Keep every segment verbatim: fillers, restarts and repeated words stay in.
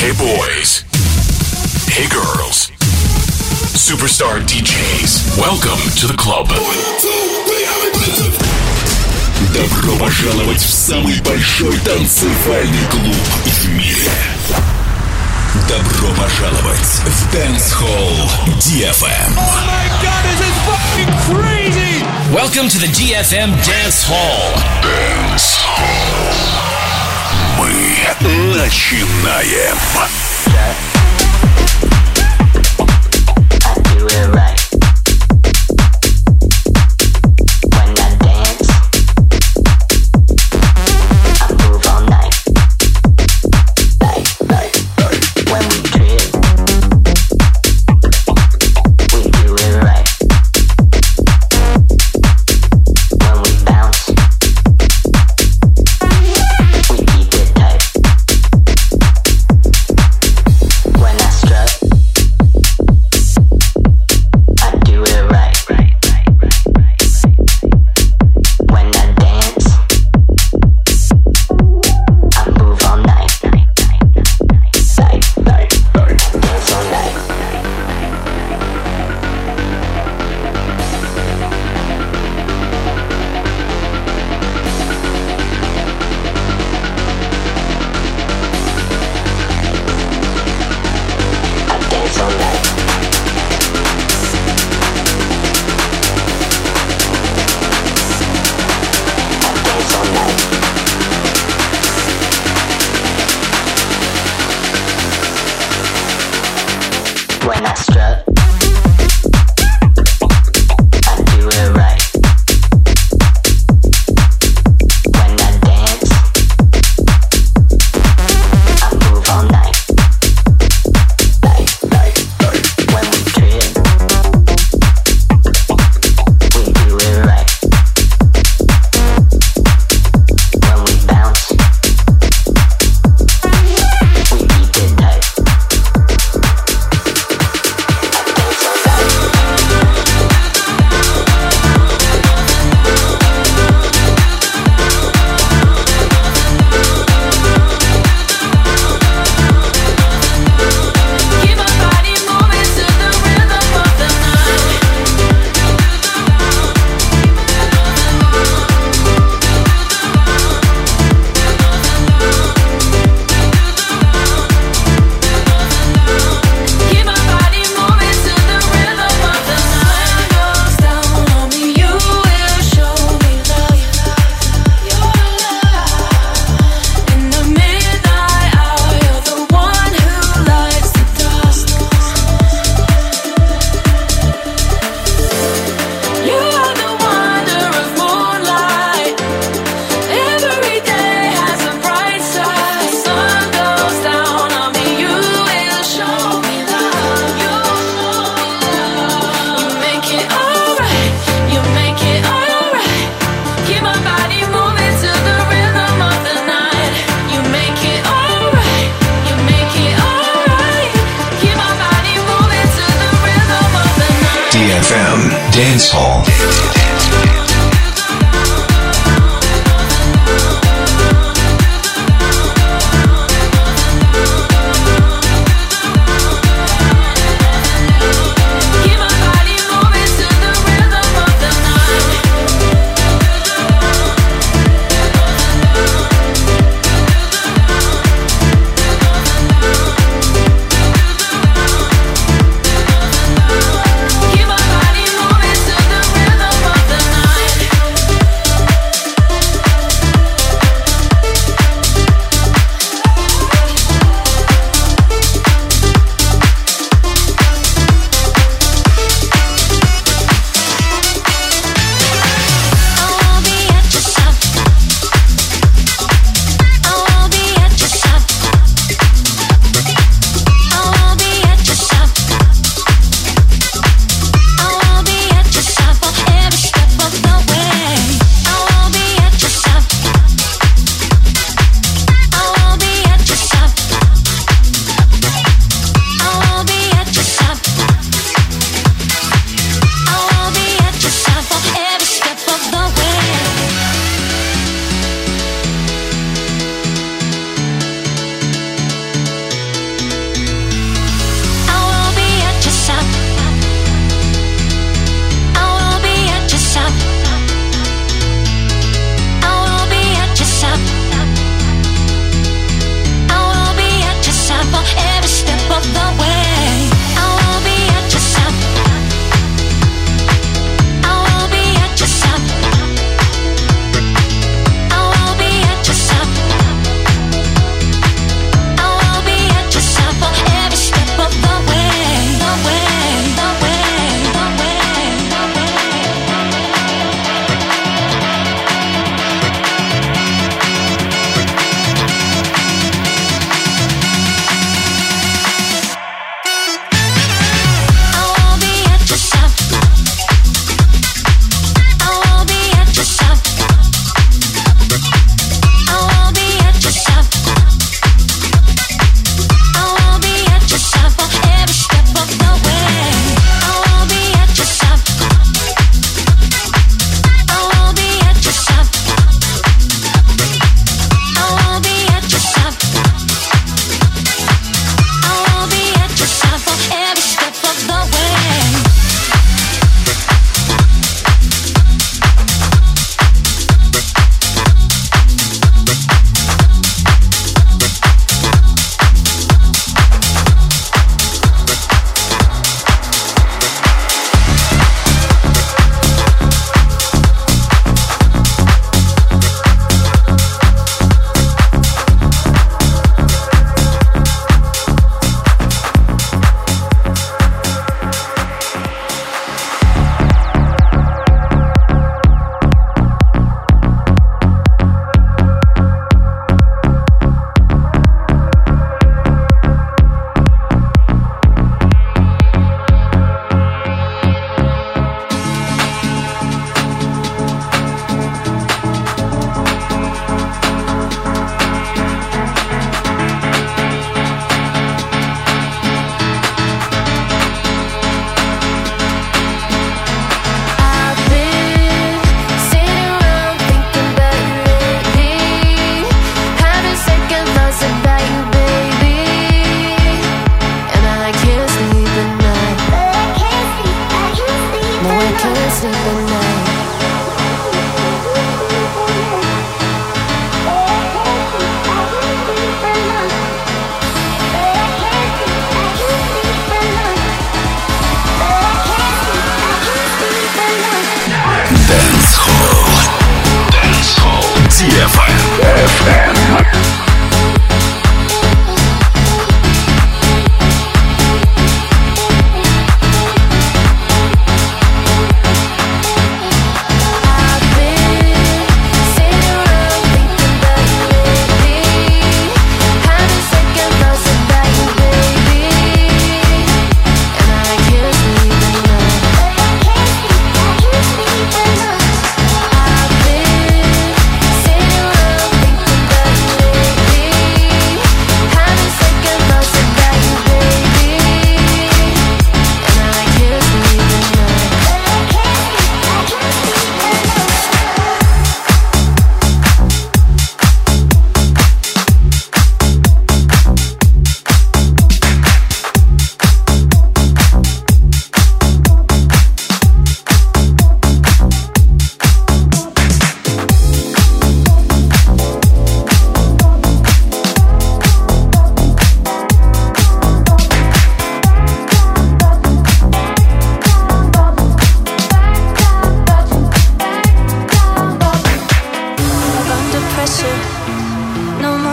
Hey boys. Hey girls. Superstar ди джейс. Welcome to the club. Добро пожаловать в самый большой танцевальный клуб в мире. Добро пожаловать в Dance Hall ди эф эм. Oh my god, this is fucking crazy! Welcome to the ди эф эм Dance Hall. Dance Hall. Мы начинаем. I do it right. When I dance, I move all night. Like, like, when we trip, we do it right. When we bounce, we keep it tight.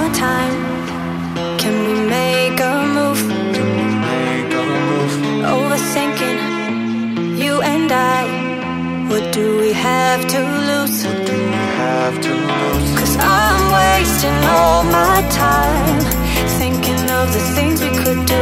my time. Can we make a move? Can we make a move? Overthinking, you and I. What do we have to lose? What do we have to lose? Cause I'm wasting all my time thinking of the things we could do.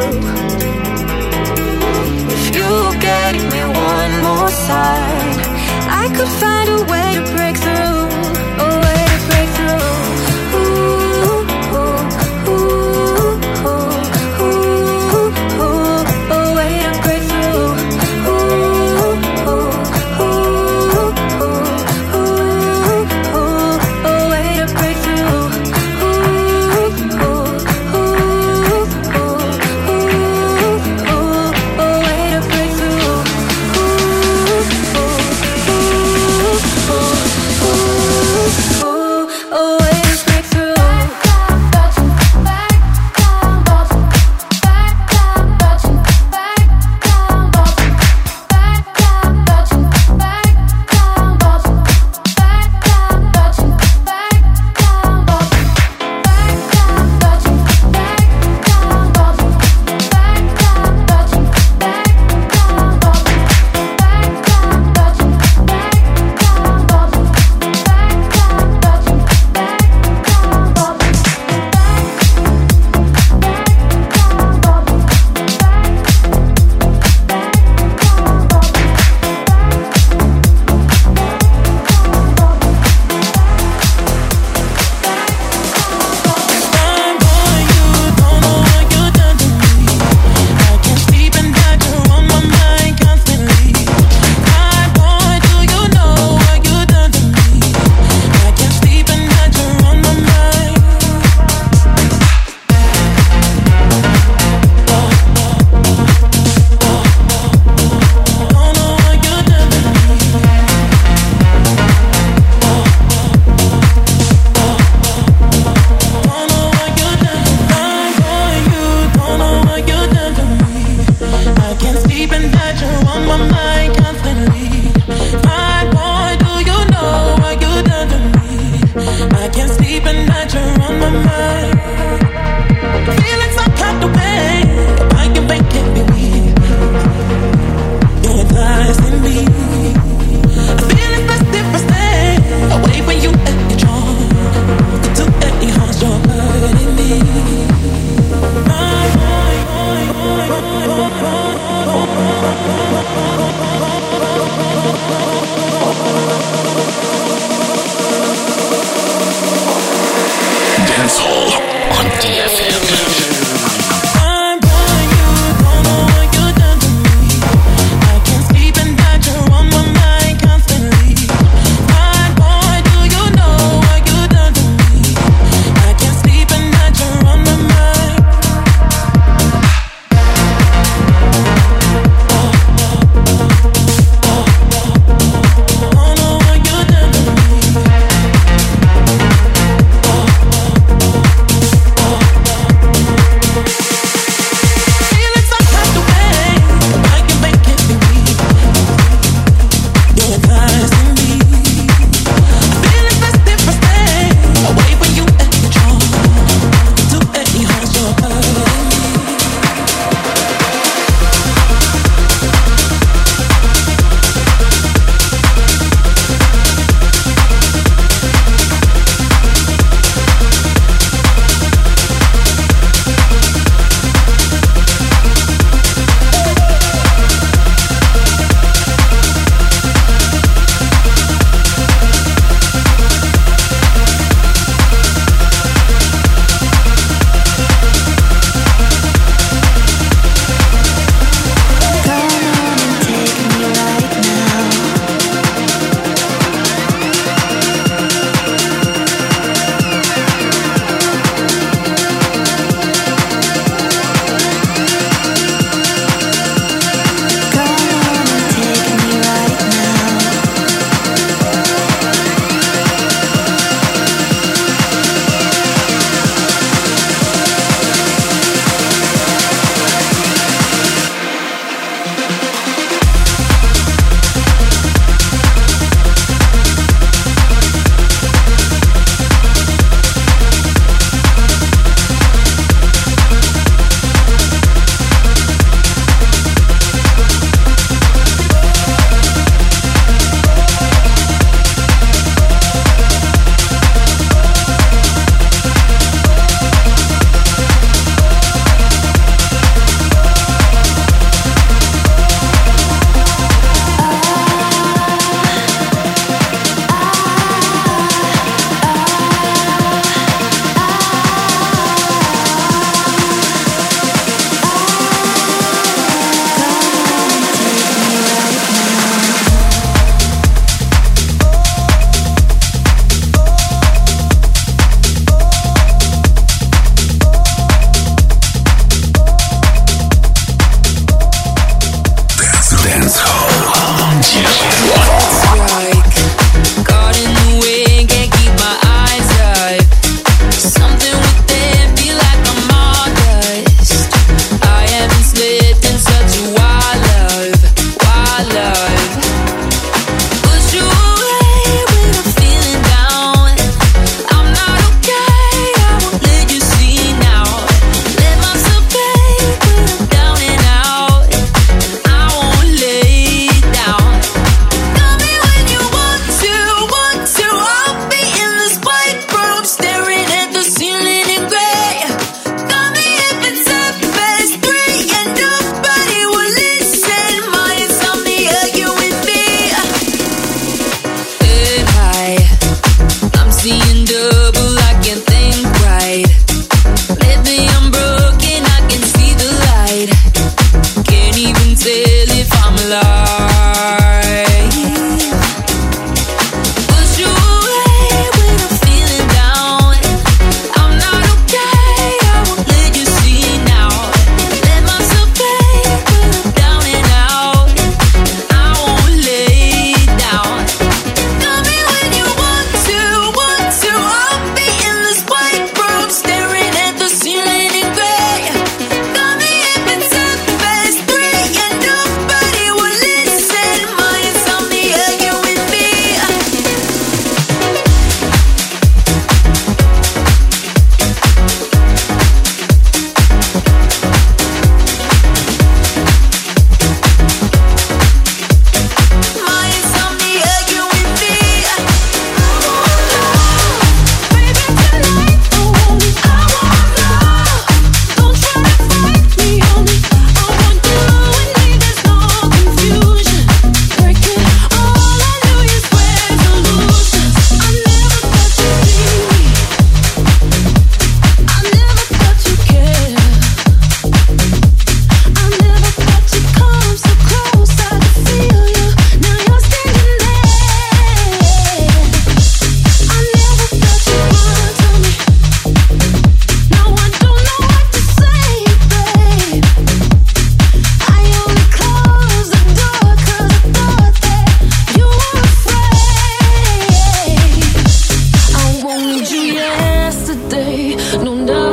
If you gave me one more sign, I could find a way to break through. A way to break through. Ooh, ooh, ooh, ooh, ooh, ooh. A way to break through. Ooh, ooh, ooh, ooh, ooh, ooh. A way to break through. Ooh, ooh, ooh, ooh, ooh, ooh. A way to break through. Ooh, ooh, ooh, ooh, ooh, ooh. A way to break through.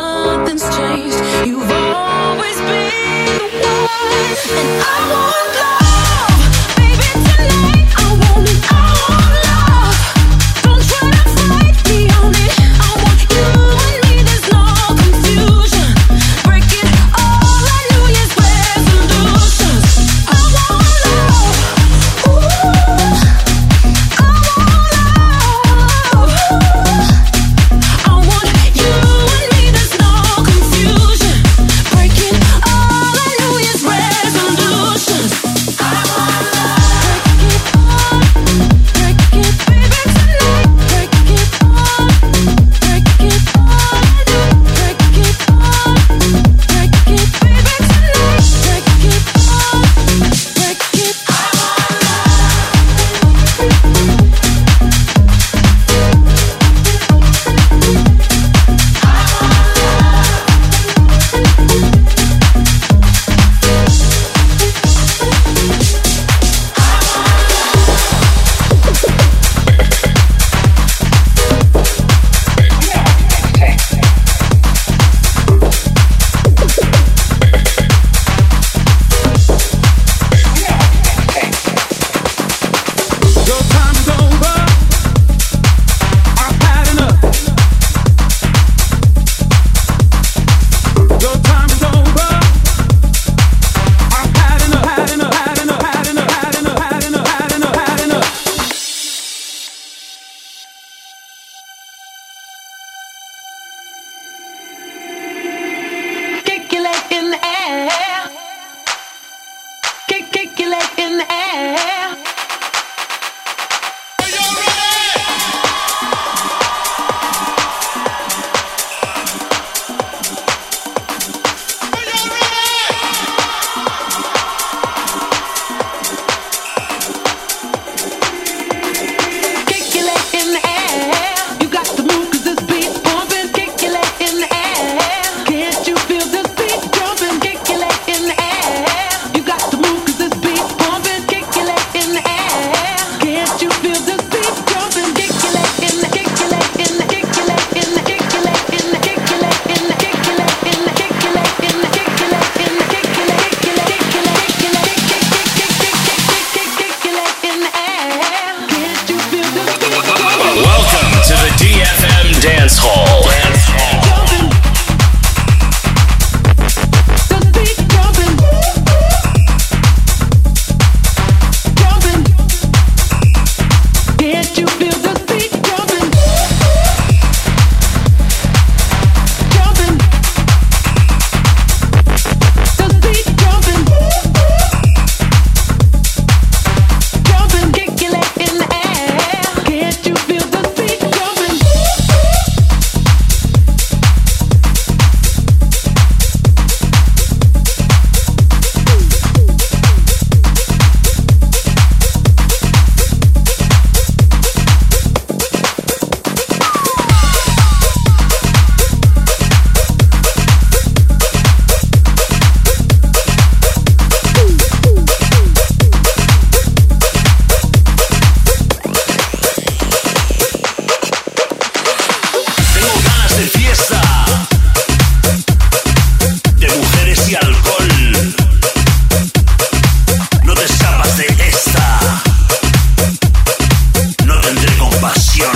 nothing's changed. You've always been the one, and I want love, baby, tonight. I want it, I want love. Don't try to fight me on it. I want you and me, there's no confusion. Breaking all our New Year's resolutions. I want love, ooh, I want love. I want you and me, there's no confusion. Breaking all our New Year's resolutions. I want love. Break it all, break it, baby, tonight. Break it all, break it all, break it all, break it, baby, tonight. Break it all, break it. I want Your time is over. I've had enough. Your time is over. I've had enough. Had enough. Had enough. Had enough. Had enough. Had enough. Had enough. Had enough. kick your leg in the air. Kick, kick your leg in the air. Kick your leg in the air. You got to move 'cause this beat's pumping. Kick your leg in the air. Can't you feel this beat jumping? Kick your leg in the air. You got to move 'cause this beat's pumping. Kick your leg in the air. Can't you feel this beat jumping? Kick your leg in the, kick your leg in the, kick your leg in the, kick your leg in the, kick your leg in the, kick your leg in the, kick your leg in the, kick your leg in the, kick your leg, kick your leg, kick your leg, kick your leg, kick, kick, kick, kick, kick, kick, kick your leg in the air. Can't you feel this beat jumping? Welcome to the D F M Dance Hall. Jumping. This beat jumping. Jumping. Can't you feel this beat jumping? Jumping. This beat jumping. Jumping. Kick your leg in the air. Can't you feel this beat jumping? Tengo ganas de fiesta, de mujeres y alcohol. No te escapas de esta. No tendré compasión.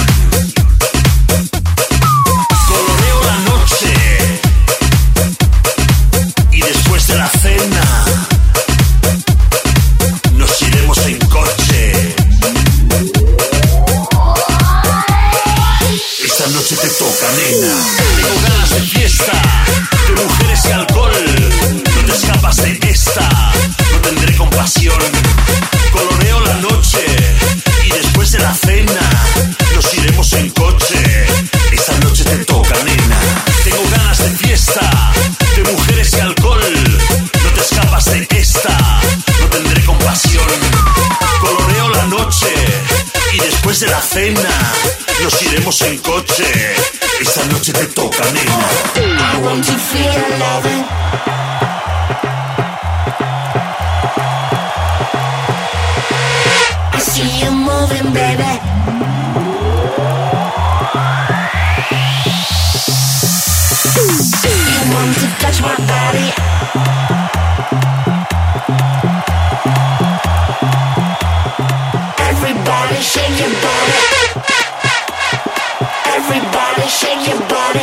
Coloreo la noche y después de la cena nos iremos en coche. Esta noche te toca, nena. Tengo ganas de fiesta, de mujeres y alcohol. No te escapas de esta. No tendré compasión. Coloreo la noche y después de la cena nos iremos en coche. Esta noche te toca, nena. Tengo ganas de fiesta, de mujeres y alcohol. No te escapas de esta. No tendré compasión. Coloreo la noche y después de la cena nos iremos en coche. Esta noche te toca, nena. I want to feel loving. I see you moving, baby. You want to touch my body. Everybody shake your body. Everybody shake your body.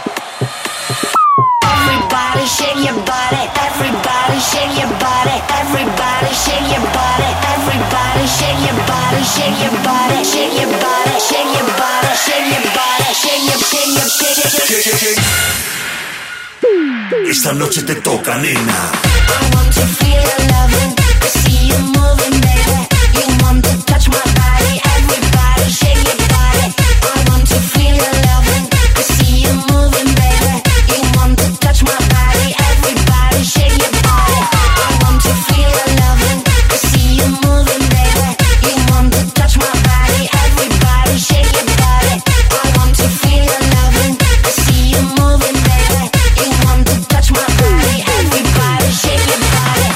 Everybody shake your body. Everybody shake your body. Everybody shake your body. Everybody shake your body. Shake your body. Shake your body. Shake your body. Shake your body. Shake your shake your shake your shake. Esta noche te toca, nena. I want to feel your loving. I see you moving, baby. You want to touch my body. Everybody shake your body. I want to feel your loving. I see you moving, baby. You want to touch my body. Everybody shake your body. I want to feel your loving. I see you moving, baby. You want to touch my body. Everybody shake your body. I want to feel your loving. I see you moving, baby. You want to touch my body. Everybody shake your body.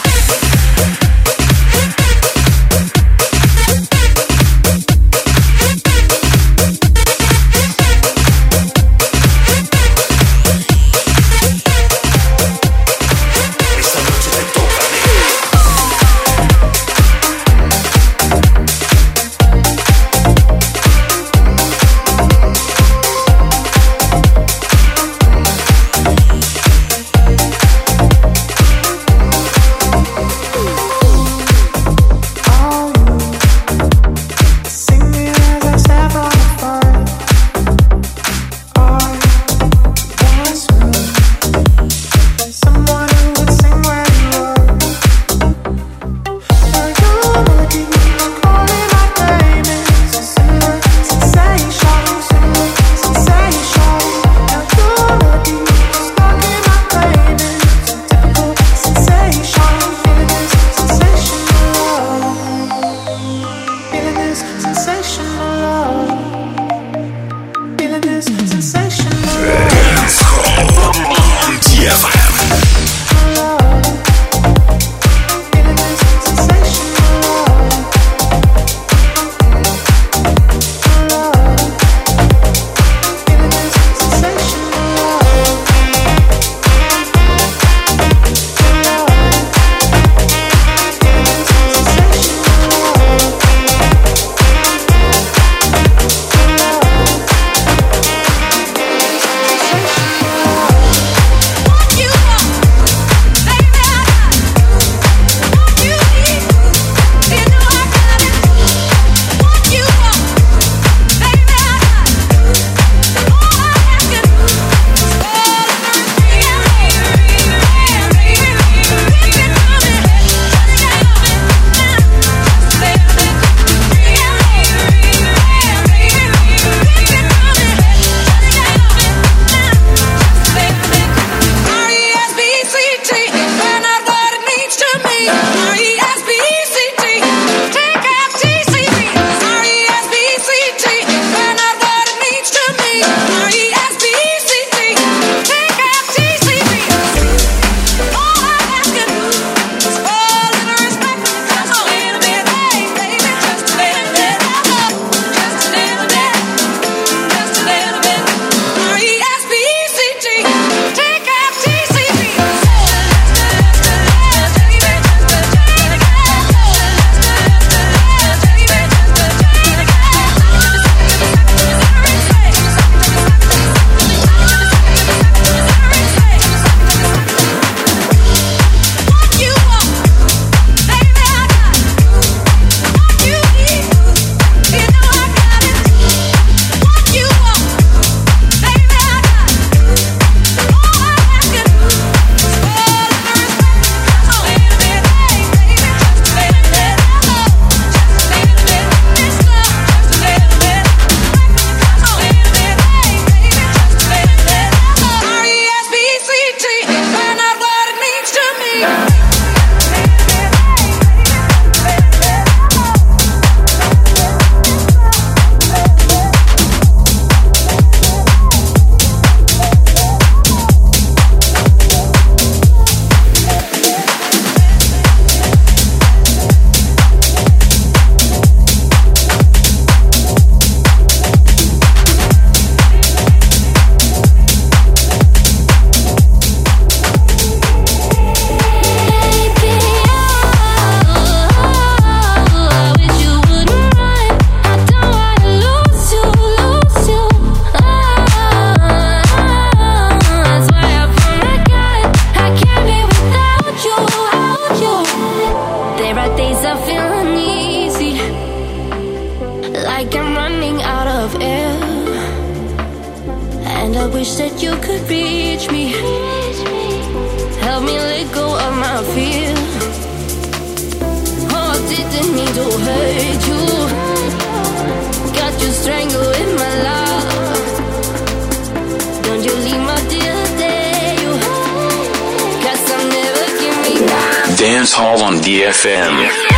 reach me. Help me let go of my fear. Oh, I didn't mean to hurt you. Got you strangled with my love. Don't you leave my dear day. Cause I'll never give me back. Dance Hall on D F M.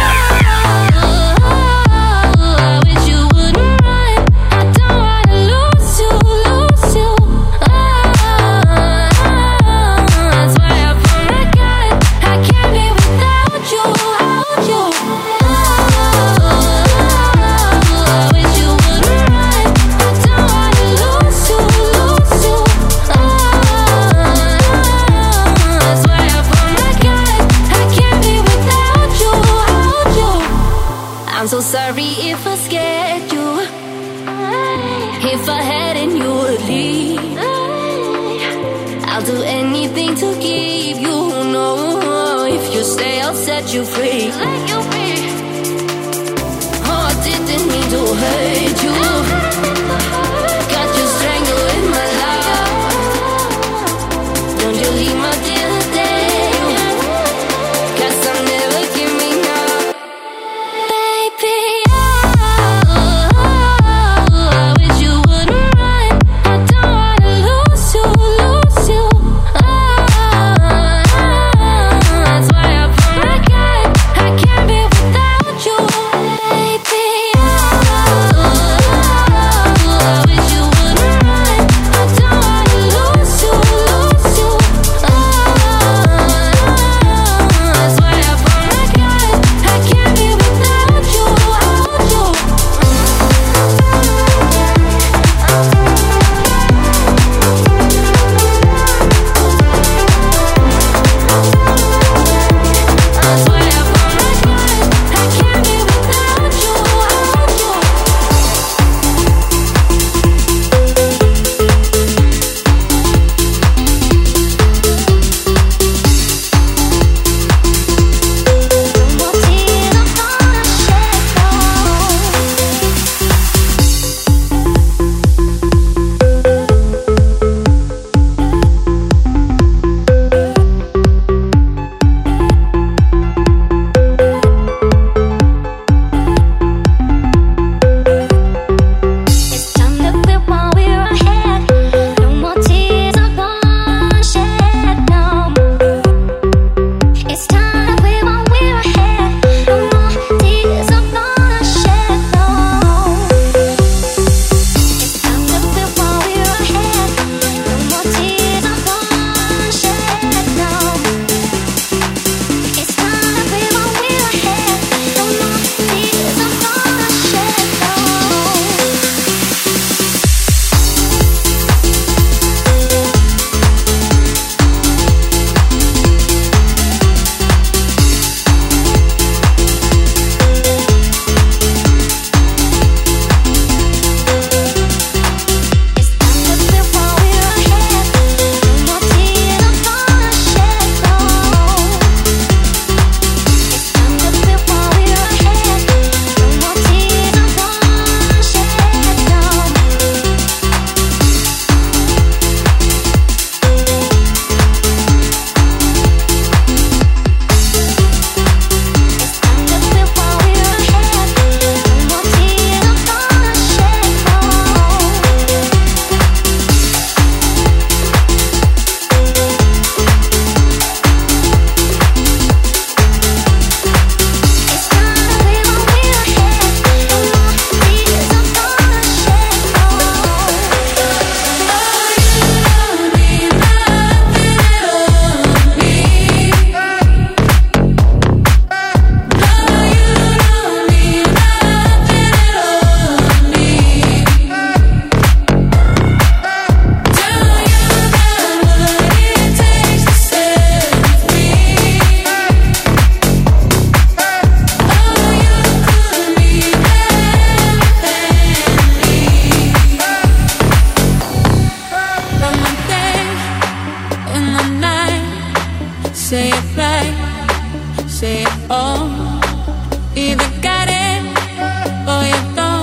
I'm so sorry if I scared you. If I hadn't, you would leave. I'll do anything to keep you. No, if you stay, I'll set you free. Oh, I didn't mean to hurt you. Got you strangled in my love. Don't you leave my dear day. Cause I'll never give me now.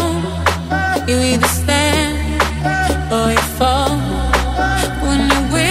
You either stand or you fall. When you're with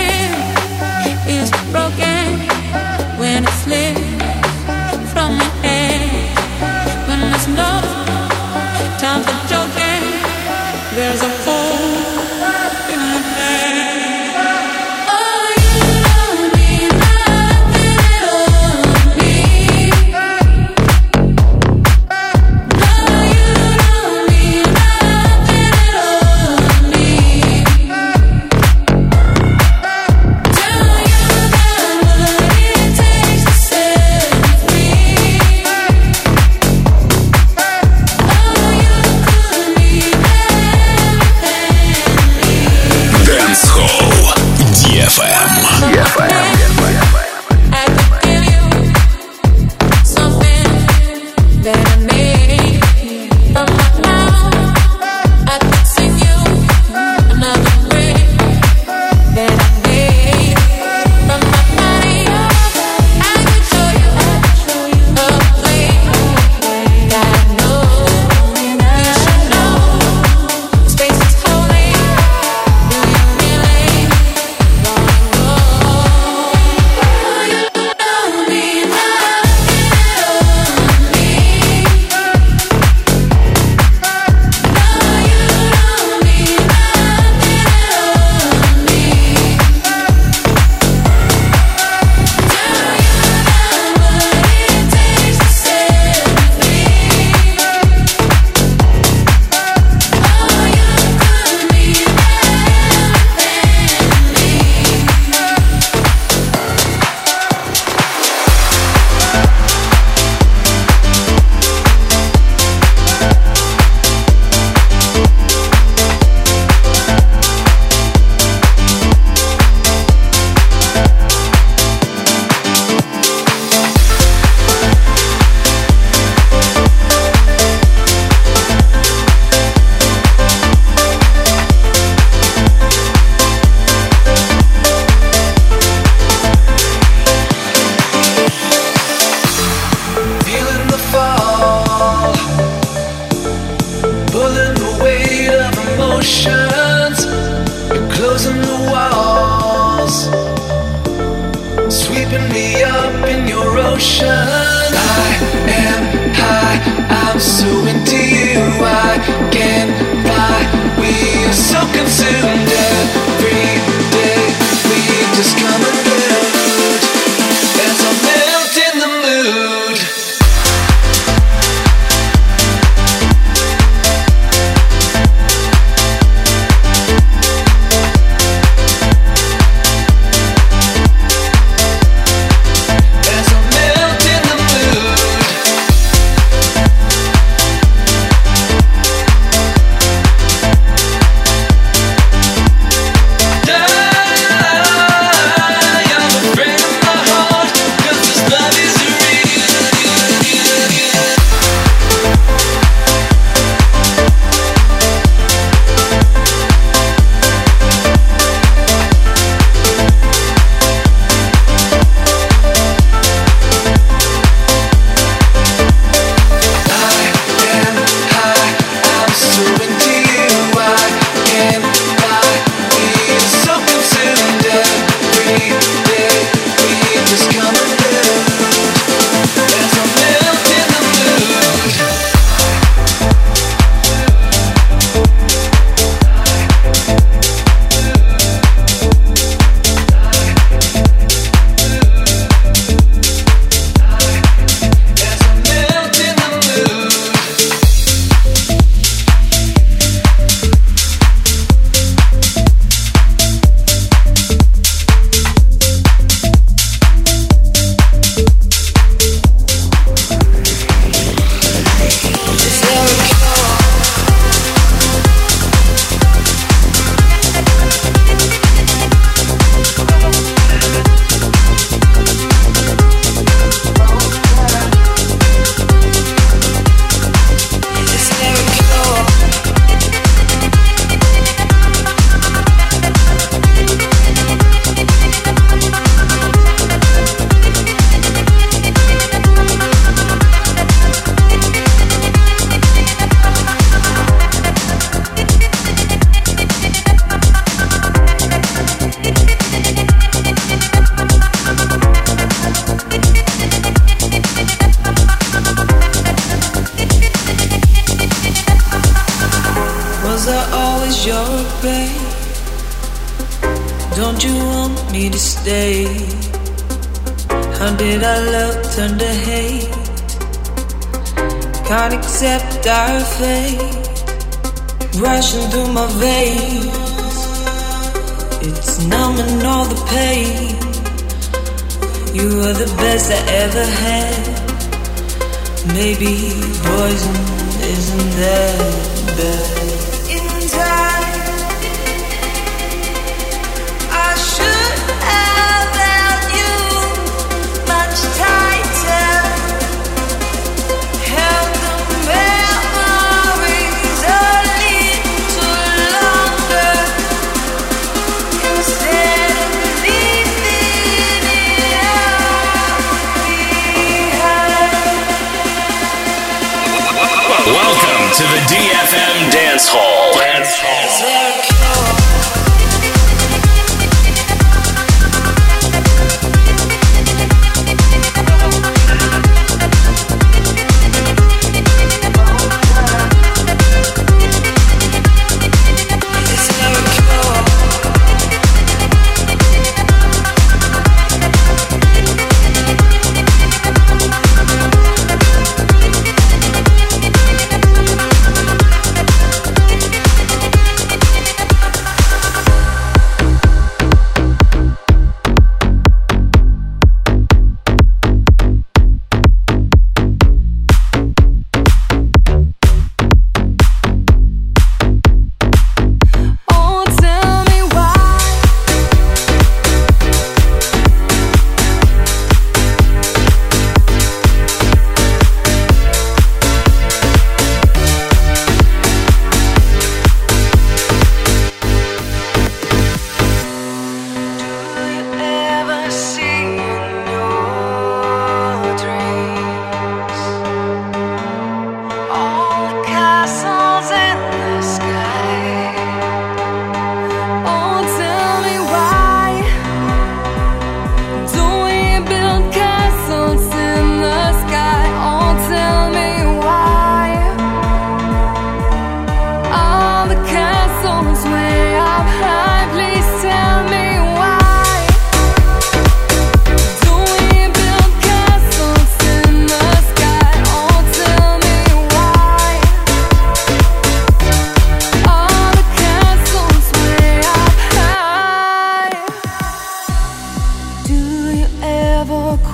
To the D F M Dance Hall. Dance Hall.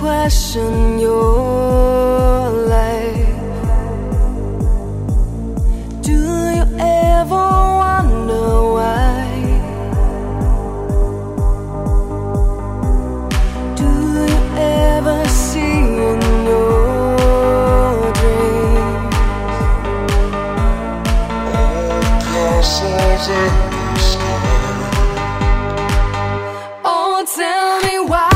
question your life. Do you ever wonder why? Do you ever see in your dreams all castles in the sky? Oh, tell me why.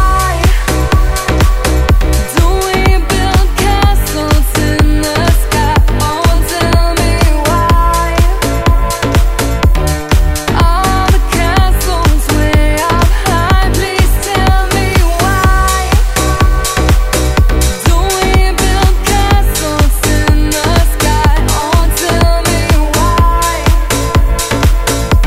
Oh,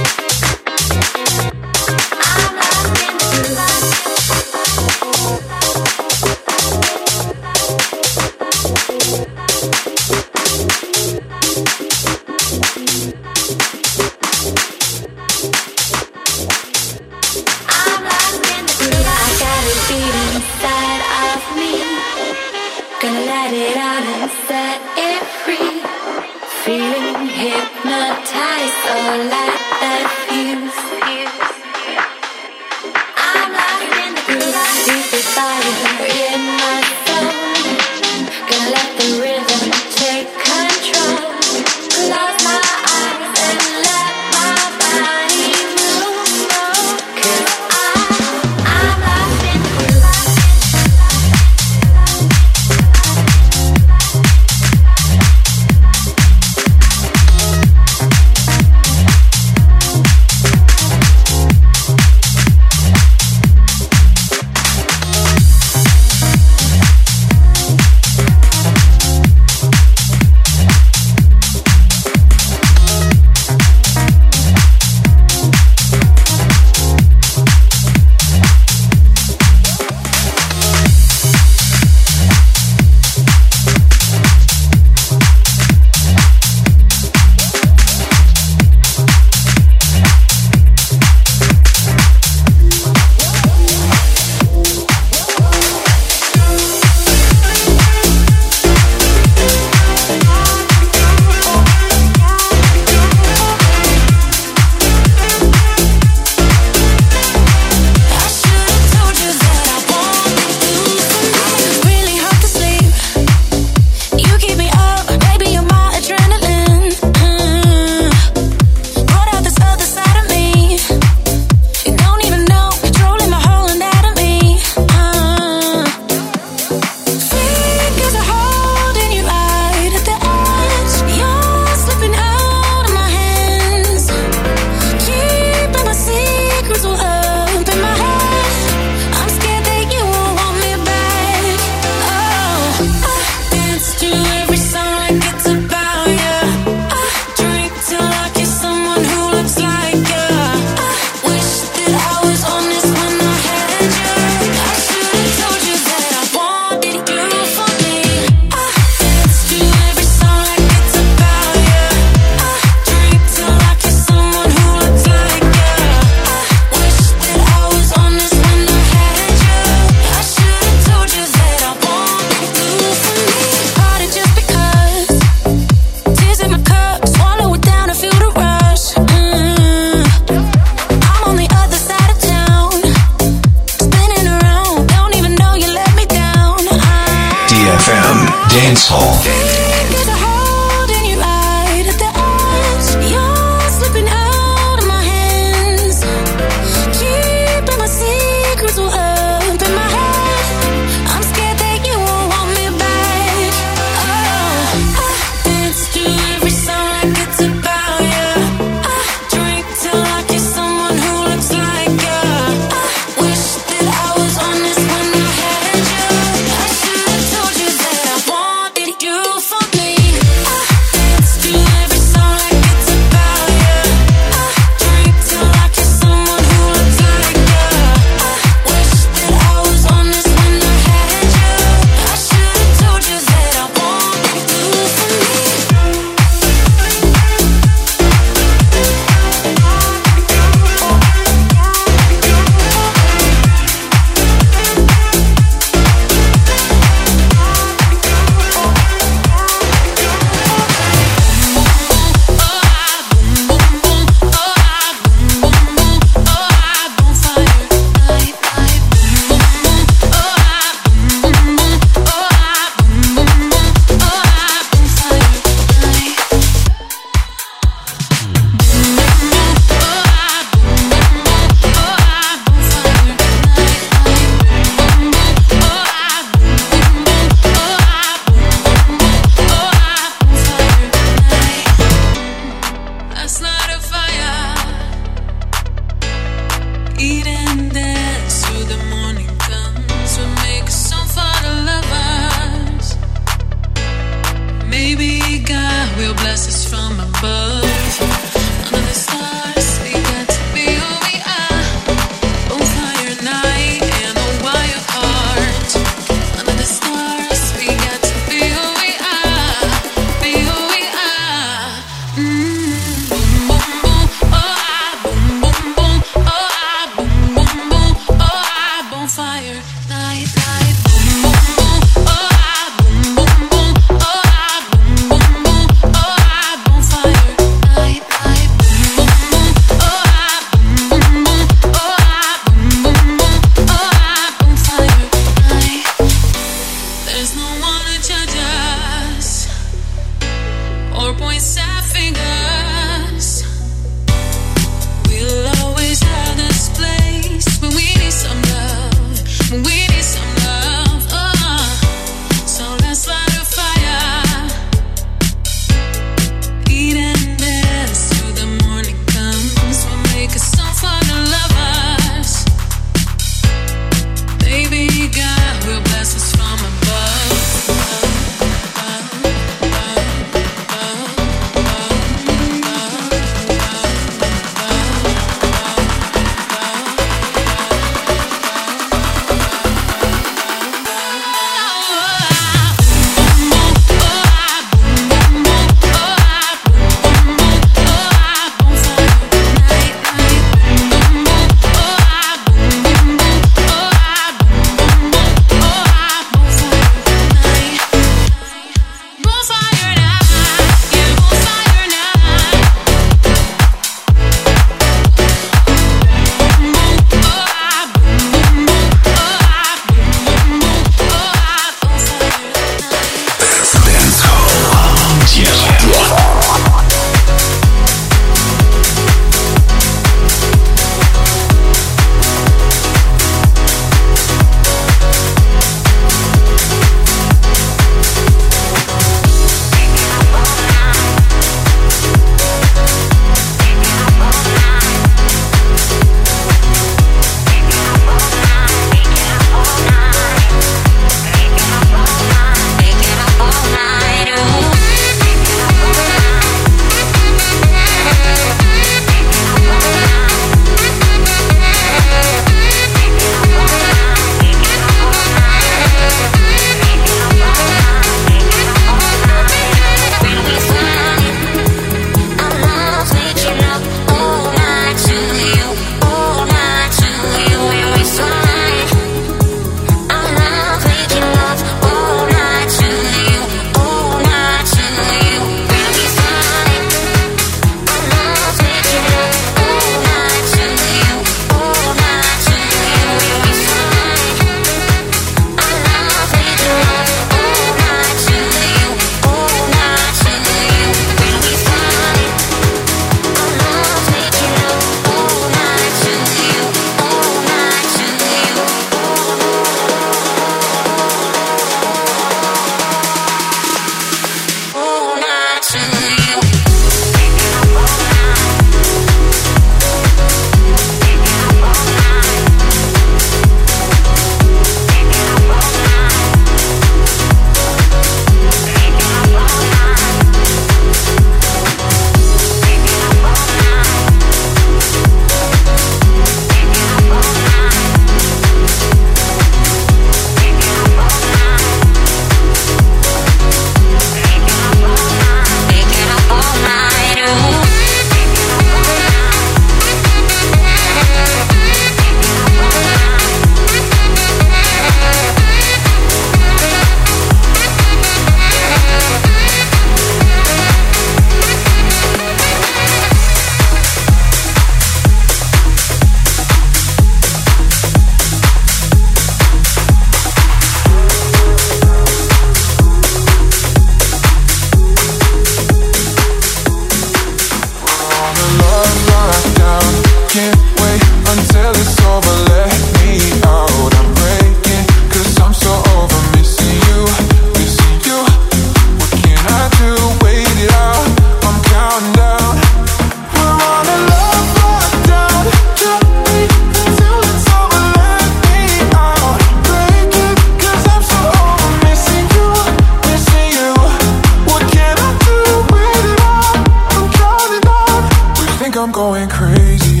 crazy.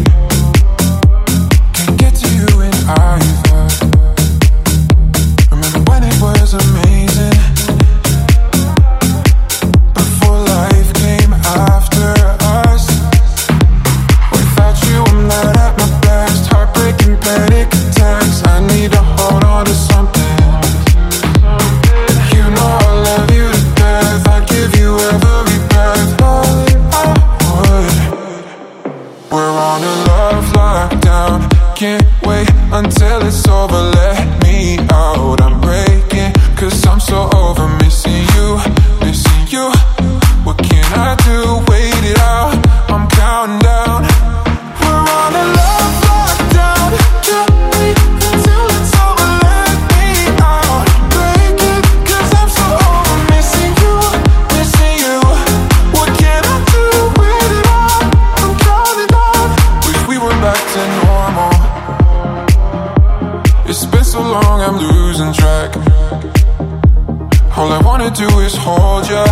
Can't get to you in either. Remember when it was amazing, before life came after us. Without you I'm not at my best. Heartbreaking panic attacks. I need to hold on to something. You know I love you to death. I'd give you every breath. I would. We're on a love lockdown. Can't wait until it's over. Let me out. I'm breaking, cause I'm so over missing you, missing you. What can I do? Wait it out. I'm counting down. We're on a love lockdown. Can't wait until it's over. Let me out. Breaking, cause I'm so over missing you, missing you. What can I do? Wait it out. I'm counting down. Wish we were back to normal. It's been so long, I'm losing track. All I wanna do is hold ya,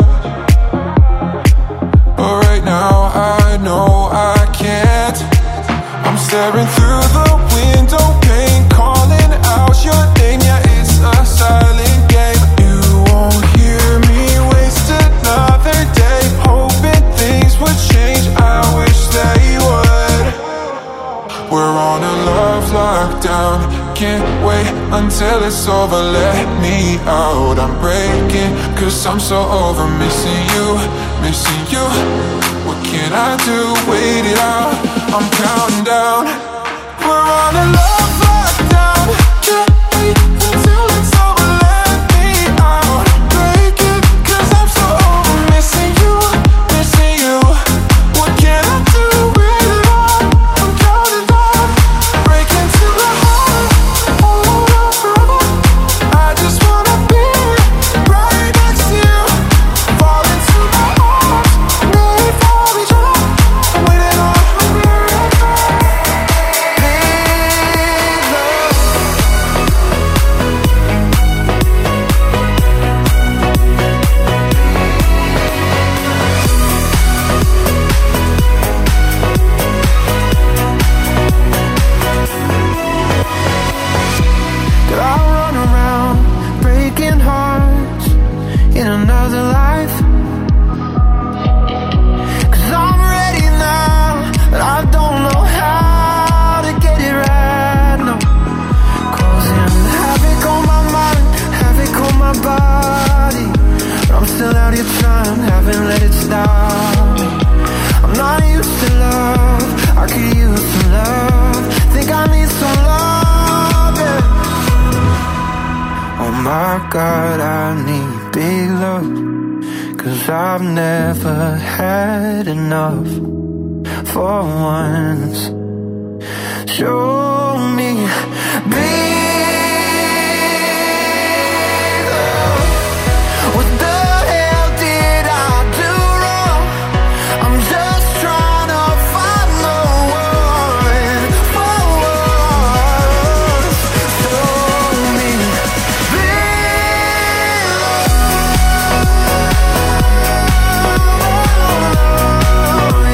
but right now I know I can't. I'm staring through the window pane, calling out your name. Yeah, it's a silent game. You won't hear me waste another day, hoping things would change. I wish they would. We're on a love lockdown. Can't wait until it's over. Let me out. I'm breaking, cause I'm so over missing you, missing you. What can I do? Wait it out. I'm counting down. We're on a love lockdown. Can't wait until it's over. Let me out. Breaking, cause I'm so over missing you, missing you. What can I do? Wait it out. I'm counting down. Breaking to the heart. Hold on forever. I just wanna be right next to you. Fall into my arms. Made for each other. I'm waiting on Did I run around breaking hearts in another life? Cause I'm ready now, but I don't know how to get it right now. Causing havoc on my mind, havoc on my body. But I'm still out here trying, haven't let it stop me. I'm not used to love, I could use some love. Think I need some love, yeah. Oh my God, I need big love, cause I've never had enough. For once, show me big love. What the hell did I do wrong? I'm just trying to find the one for once. Show me big love,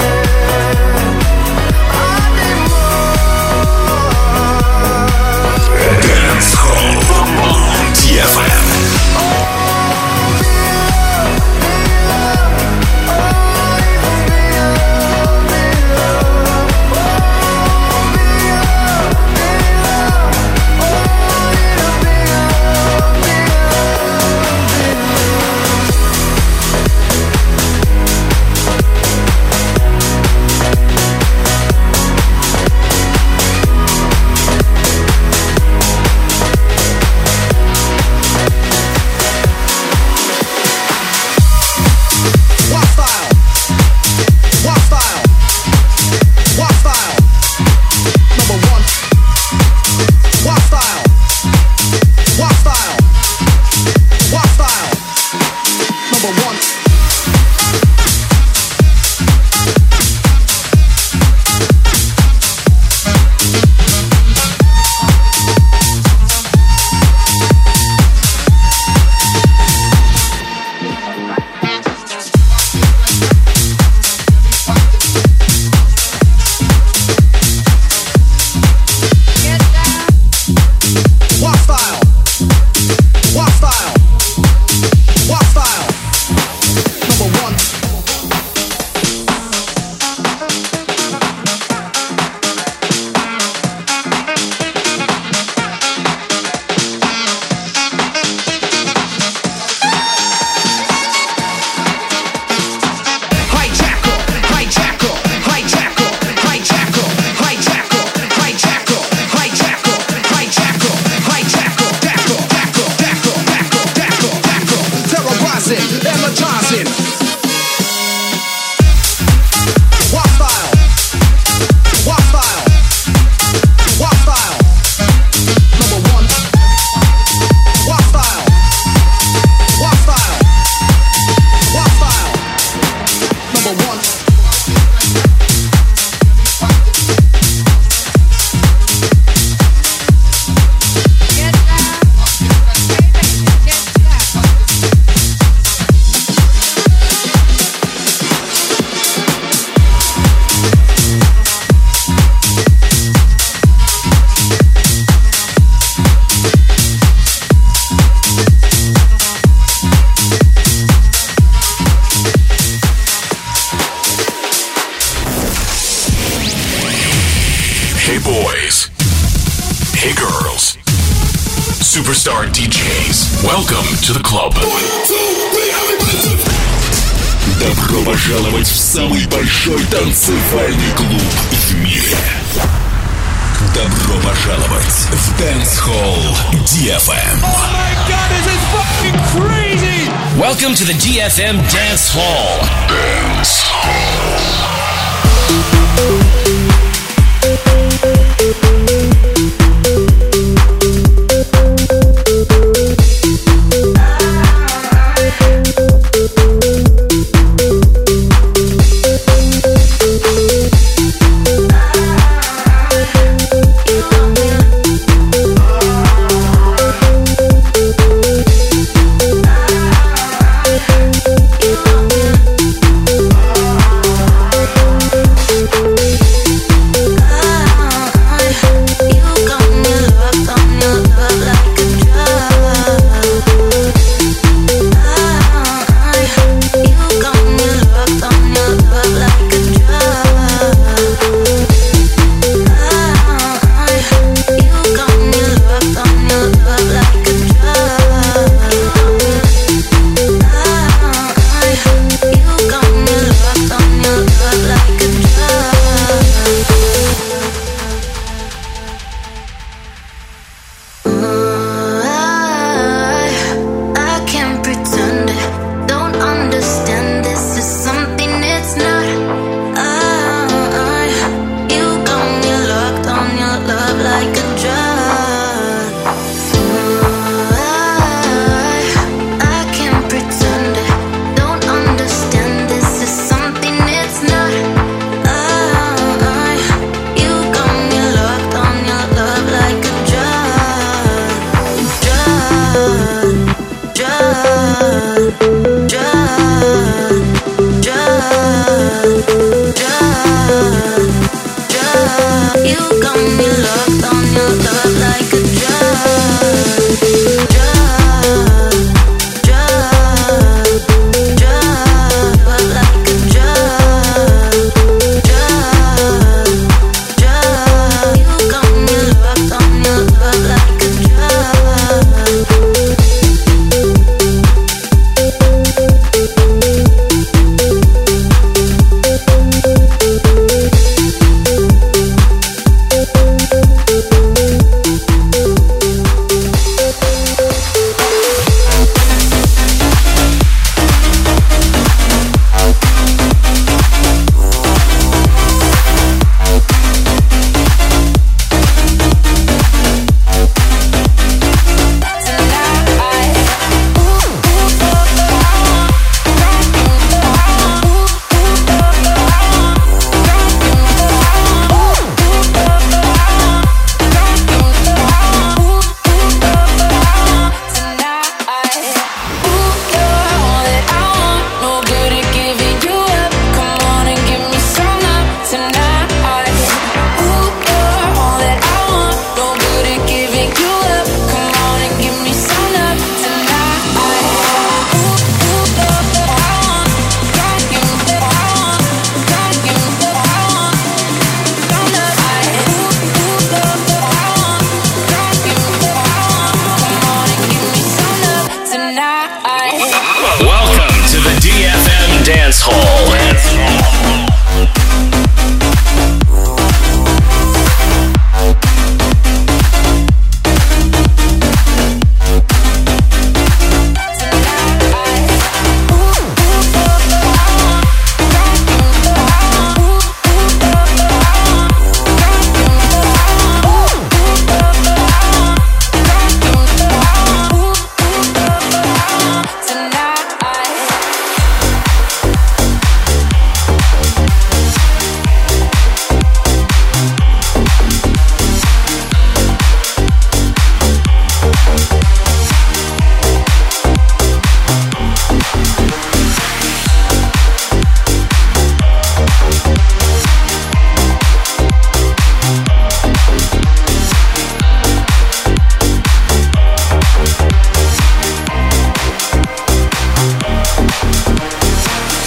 yeah. I need more. Hey boys. Hey girls. Superstar ди джейс. Welcome to the club. Добро пожаловать в самый большой танцевальный клуб в мире. Добро пожаловать в Dance Hall ди эф эм. Oh my god, this is fucking crazy! Welcome to the ди эф эм Dance Hall. Dance Hall.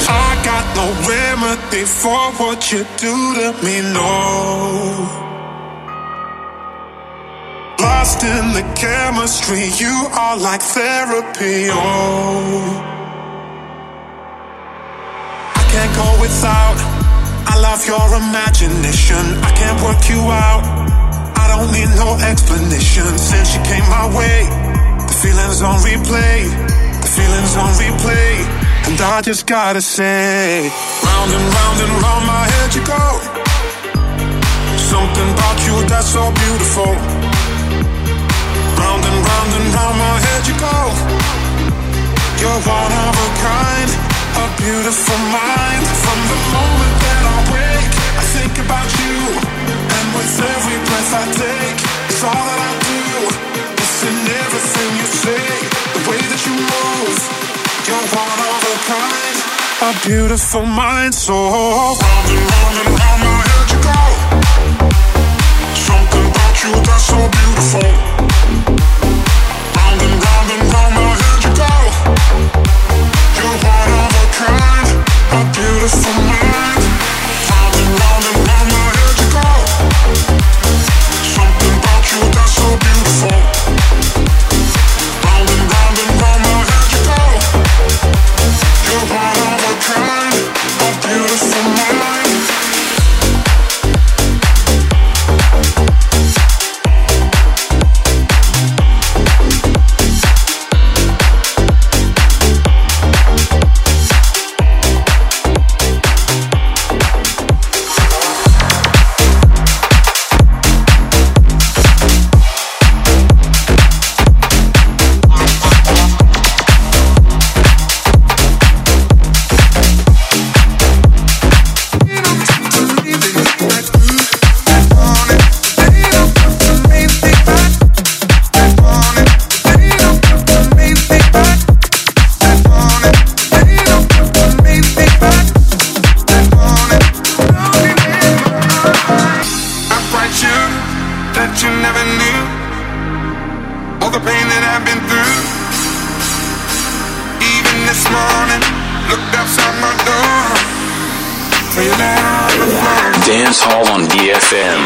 For what you do to me, no. lost in the chemistry. You are like therapy. Oh, I can't go without. I love your imagination. I can't work you out. I don't need no explanation. Since you came my way, the feeling's on replay. The feeling's on replay. And I just gotta say, round and round and round my head you go. Something about you that's so beautiful. Round and round and round my head you go. You're one of a kind, a beautiful mind. From the moment that I wake, I think about you. And with every breath I take, it's all that I do. It's in everything you say, the way that you move. You're one of a kind, a beautiful mind. So round and round and round my head you go. Something about you that's so beautiful. Round and round and round my head you go. You're one of a kind, a beautiful mind. Round and round and round my head you go. Something about you that's so beautiful. Round and round and round my head you go. You're one of a kind, a beautiful mind. Dance Hall on D F M.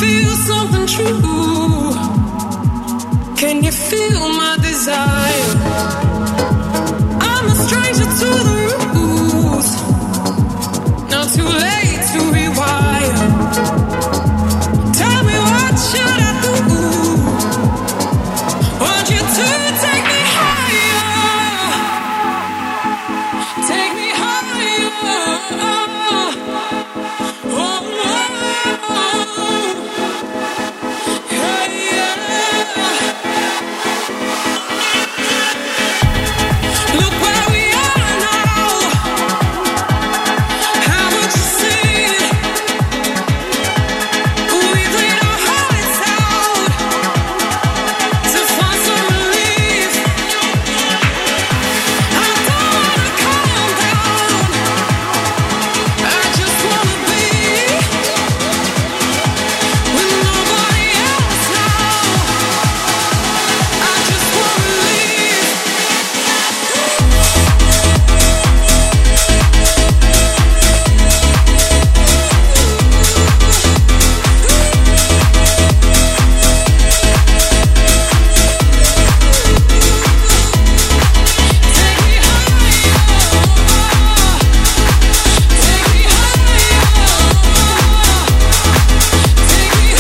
feel something true. Can you feel my desire? I'm a stranger to the rules. Not too late to rewire. Tell me what should I do? Want you to take me higher. Take me higher. Oh, oh, oh. Yeah, yeah. Look where we are now. Haven't you seen? We played our hearts out to find some relief. I don't wanna calm down. I just wanna be with nobody else now. I just wanna leave. Take me higher. Take me higher. Take me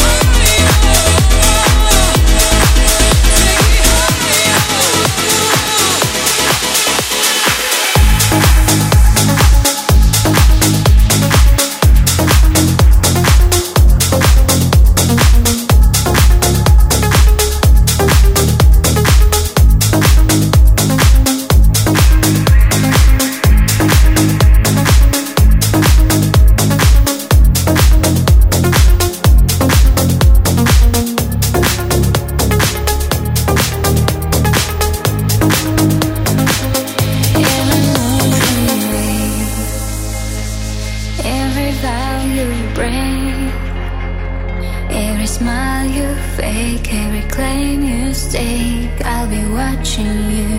Every vow you break, every smile you fake, every claim you stake, I'll be watching you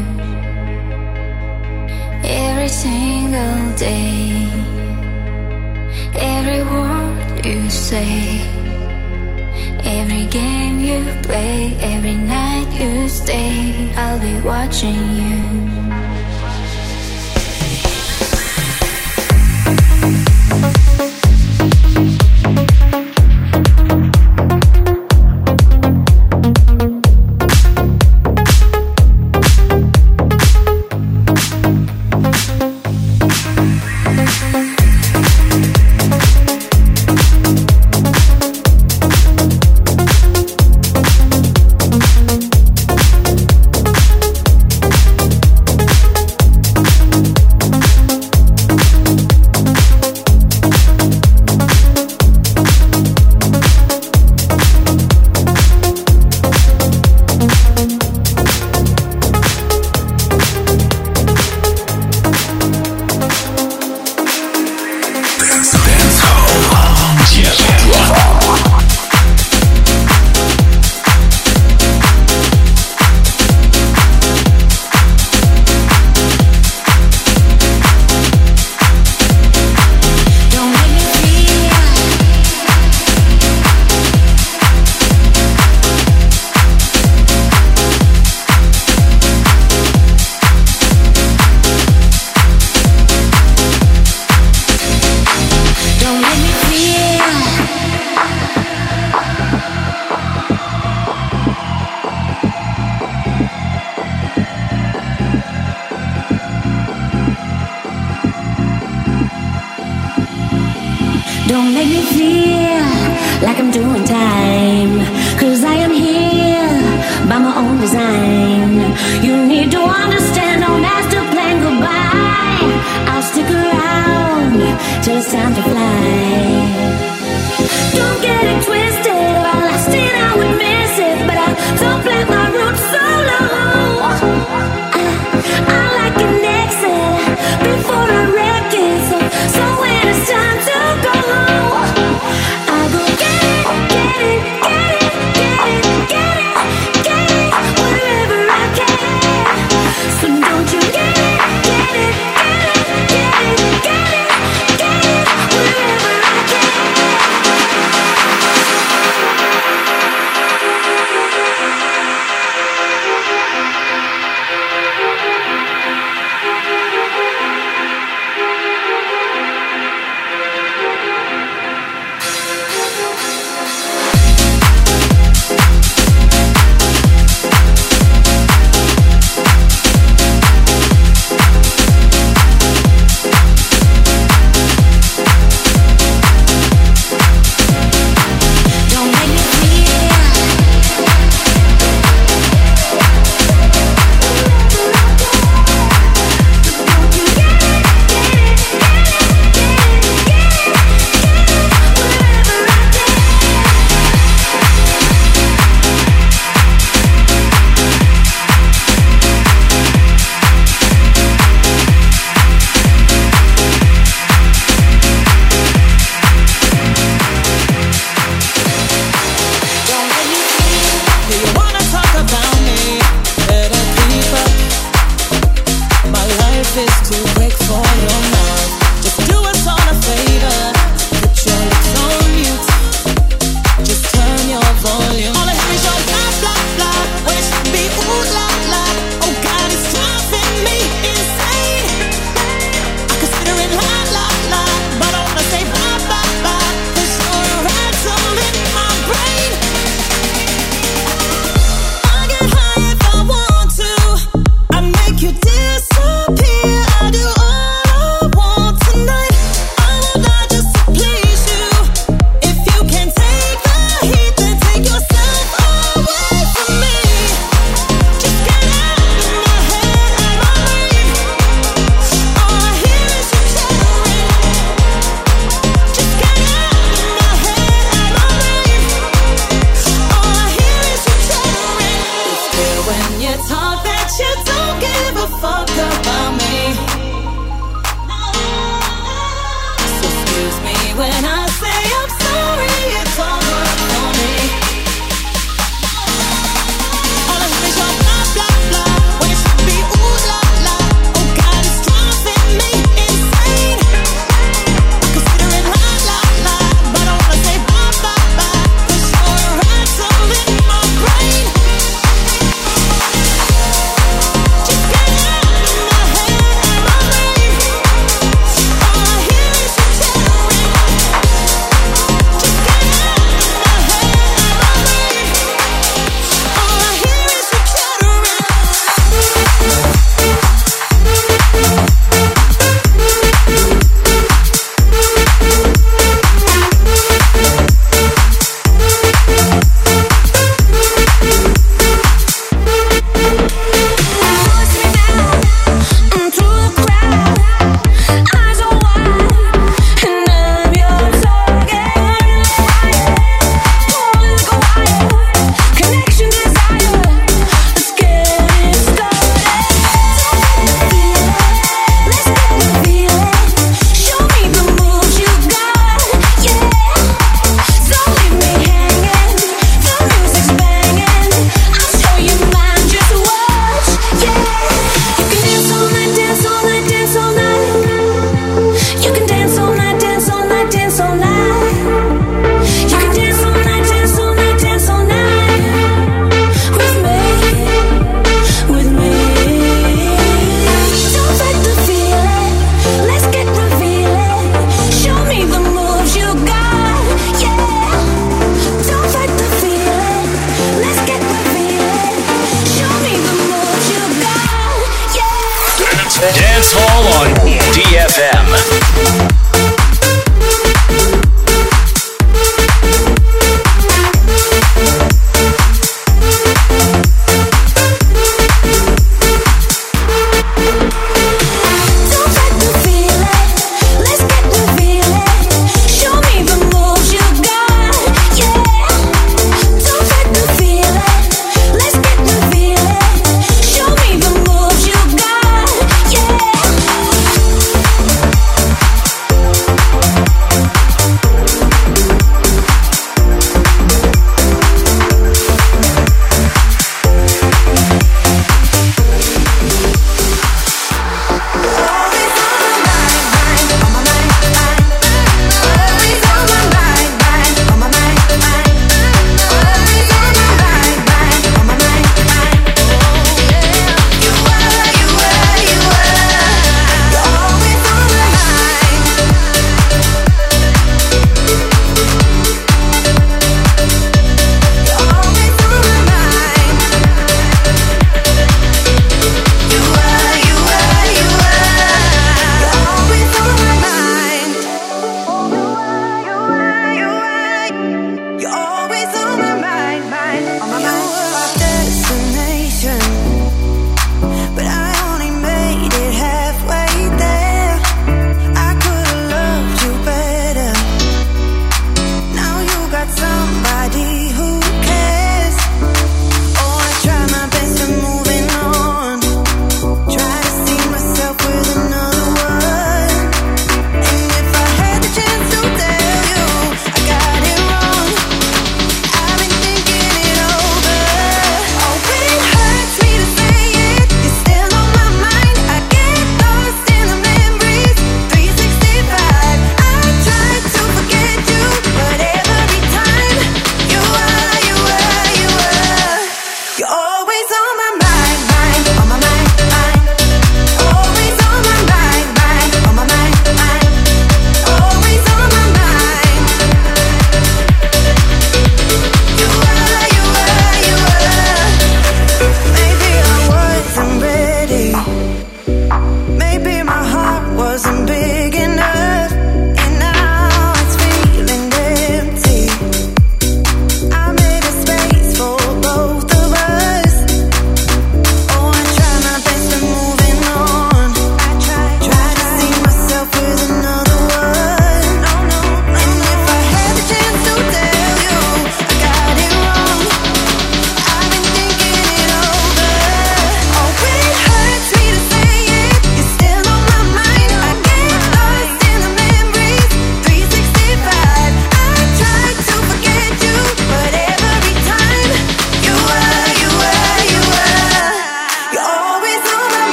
every single day. Every word you say, every game you play, every night you stay, I'll be watching you.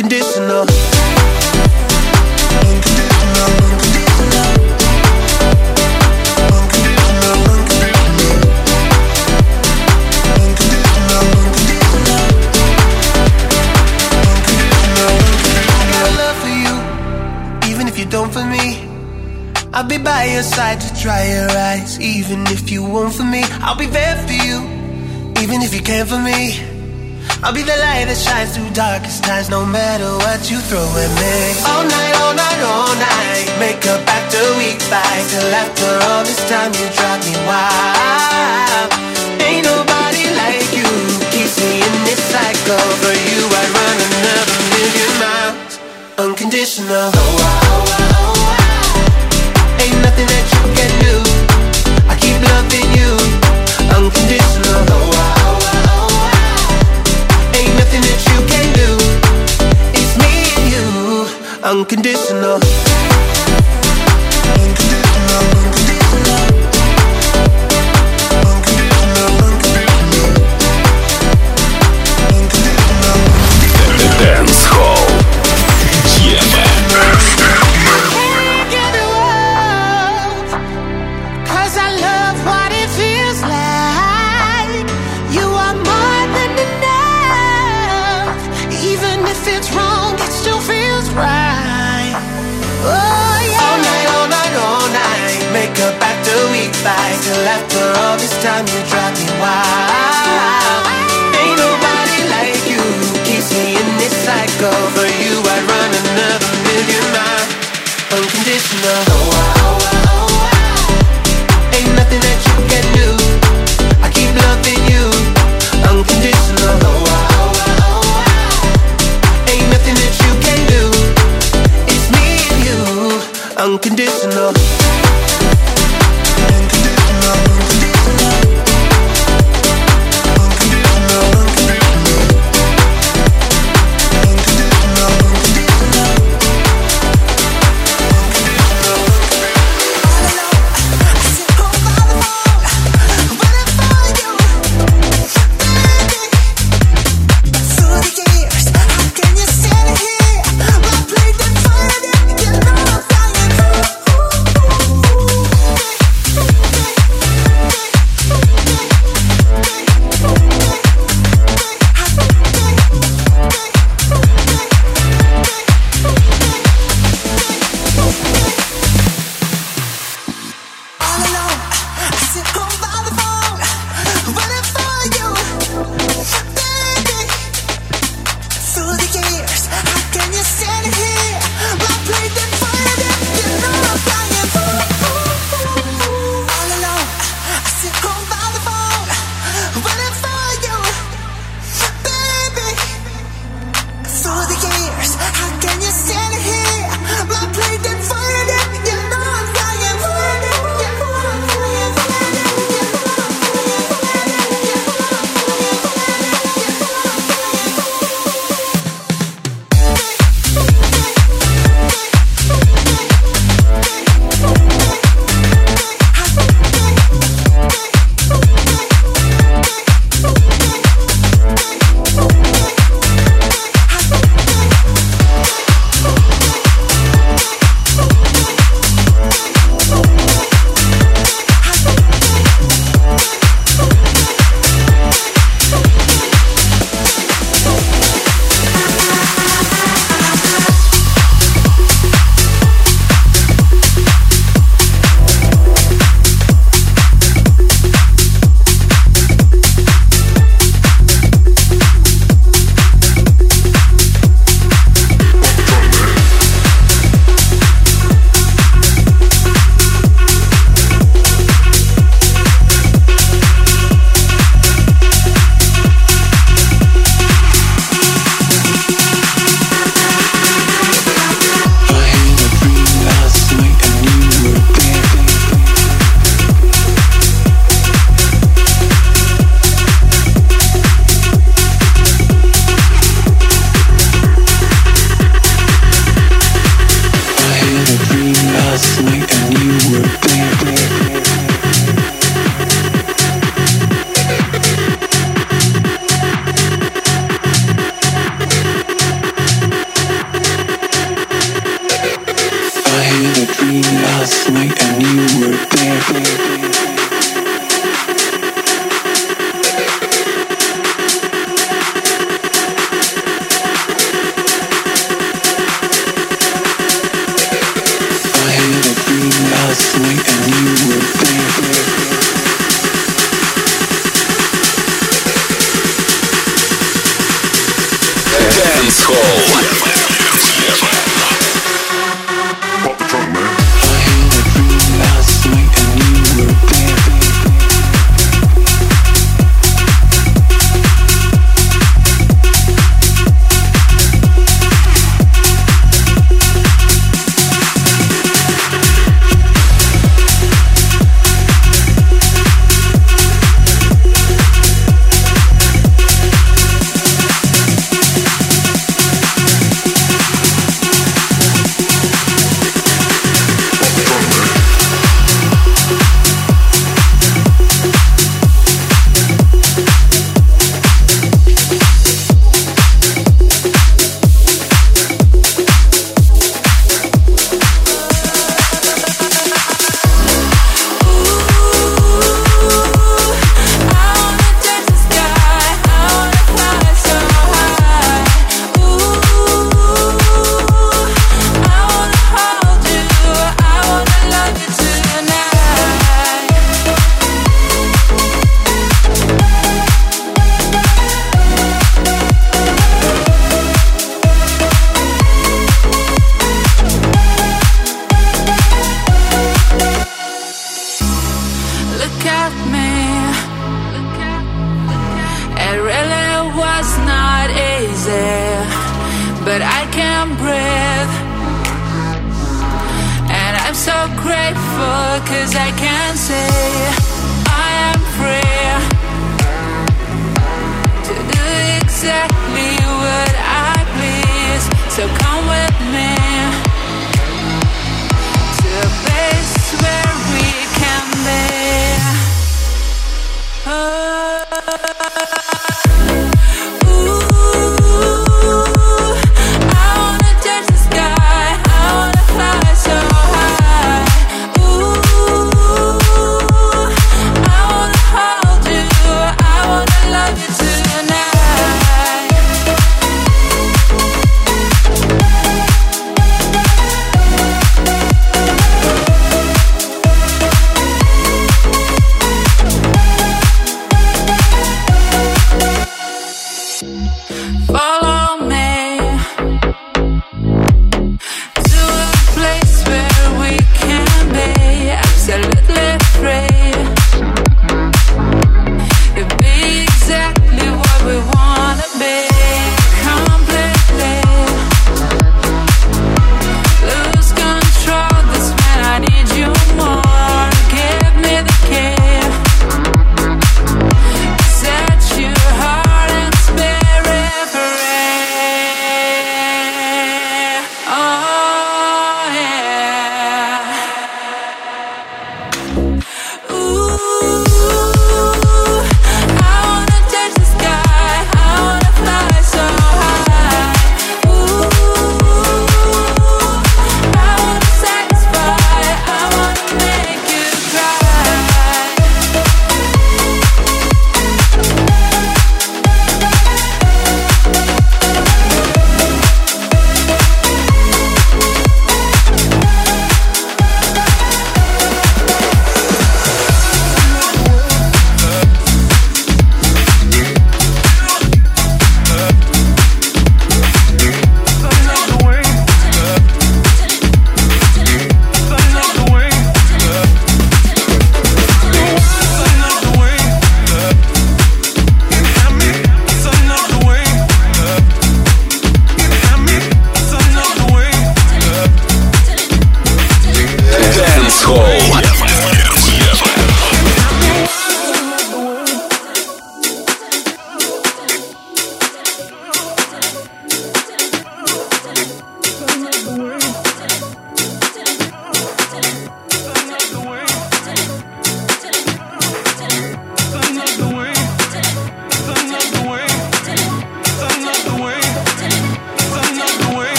unconditional. Don't for me, I'll be by your side to dry your eyes. Even if you won't for me, I'll be there for you. Even if you can't for me, I'll be the light that shines through darkest times. No matter what you throw at me. All night, all night, all night. Make up after we fight. Till after all this time you drive me wild. Ain't nobody like you. Keeps me in this cycle. For you I'd run another million miles. Unconditional. Oh, oh, oh, oh. Ain't nothing that you can do. I keep loving you. Unconditional. Oh, oh, oh, oh. Ain't nothing that you can do. It's me and you. Unconditional. Unconditional. Unconditional. Unconditional. Unconditional. Dance Hall. Till after all this time you drive me wild. Ain't nobody like you. Keeps me in this cycle. For you I'd run another million miles. Unconditional. Oh, oh, oh, oh. Ain't nothing that you can do. I keep loving you. Unconditional. Oh, oh, oh, oh. Ain't nothing that you can do. It's me and you. Unconditional. look at me. It really was not easy, but I can breathe. And I'm so grateful, cause I can say I am free to do exactly what I please. So come with me to a place where we can be. Oh. Love you tonight.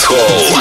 Hall.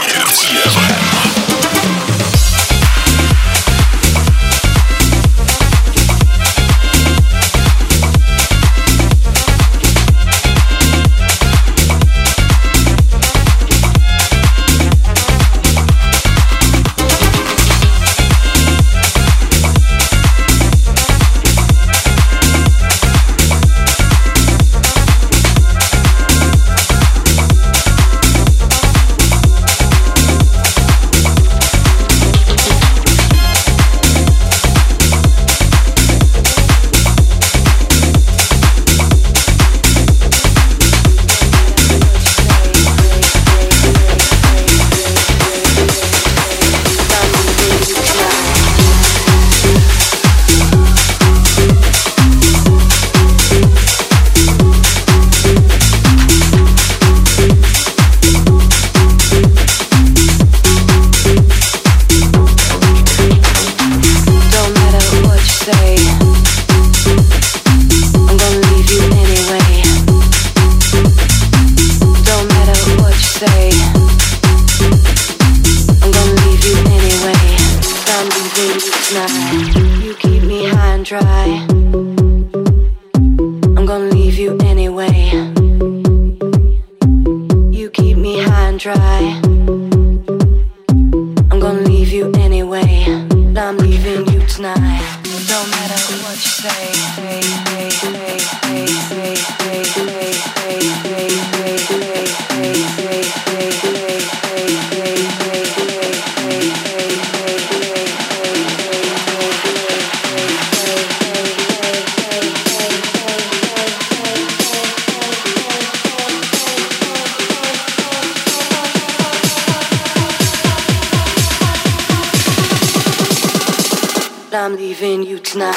I'm leaving you tonight.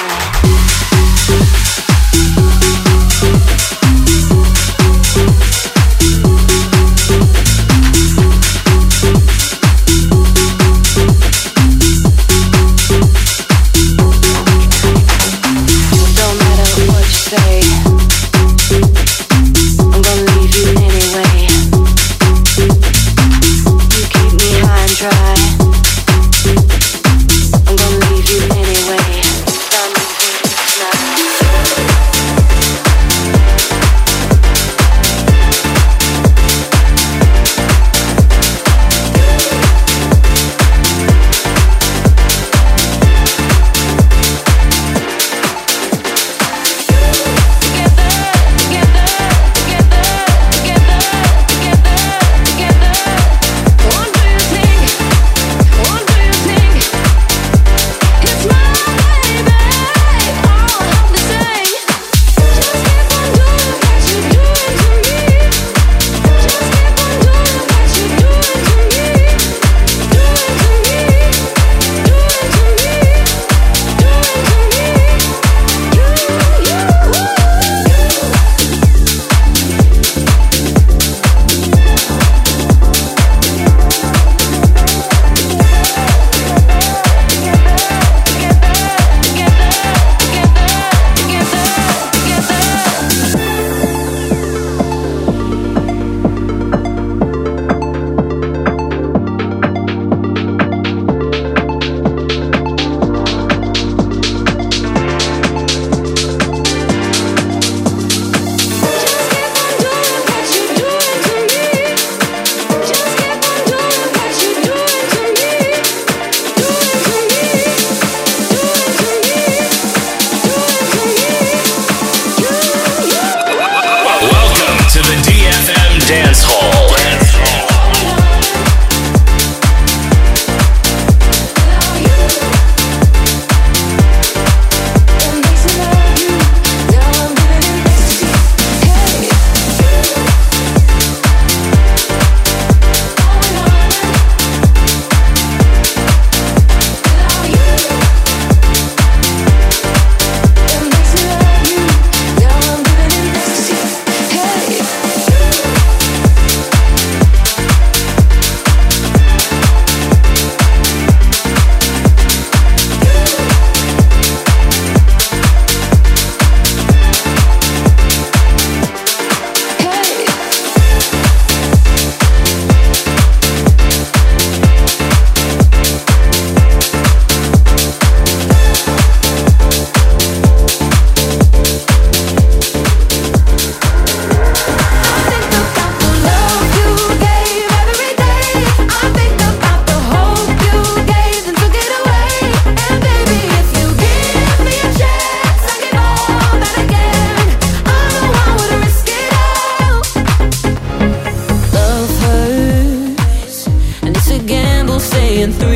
Tonight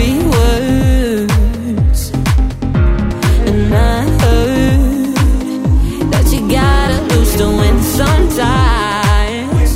empty words. And I heard that you gotta lose to win sometimes.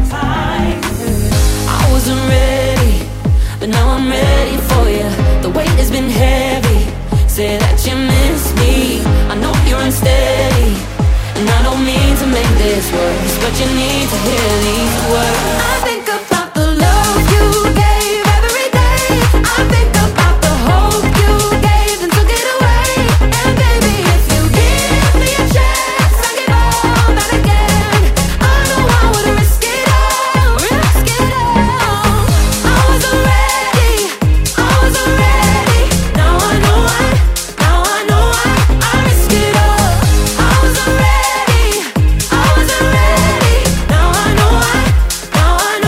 I wasn't ready, but now I'm ready for you. The weight has been heavy. Say that you miss me. I know you're unsteady, and I don't mean to make this worse, but you need to hear these words. I think about the love you gave every day. I think about the hope you gave and took it away. And baby, if you give me a chance, I'll give all that again. I know I would risk it all, risk it all. I wasn't ready, I wasn't ready. Now I know I, now I know I, I risk it all. I wasn't ready, I wasn't ready. Now I know I, now I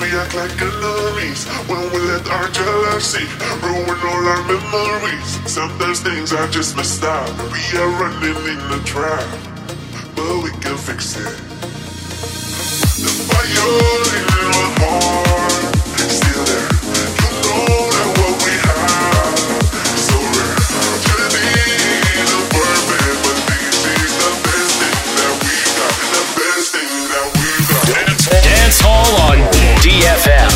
we act like enemies when we let our jealousy ruin all our memories. Sometimes things are just messed up. We are running in the trap, but we can fix it. The fire in my heart is still there. You know that what we have is so rare. Shouldn't be the perfect, but this is the best thing that we got. The best thing that we got. Dance, Dance Hall on D F M.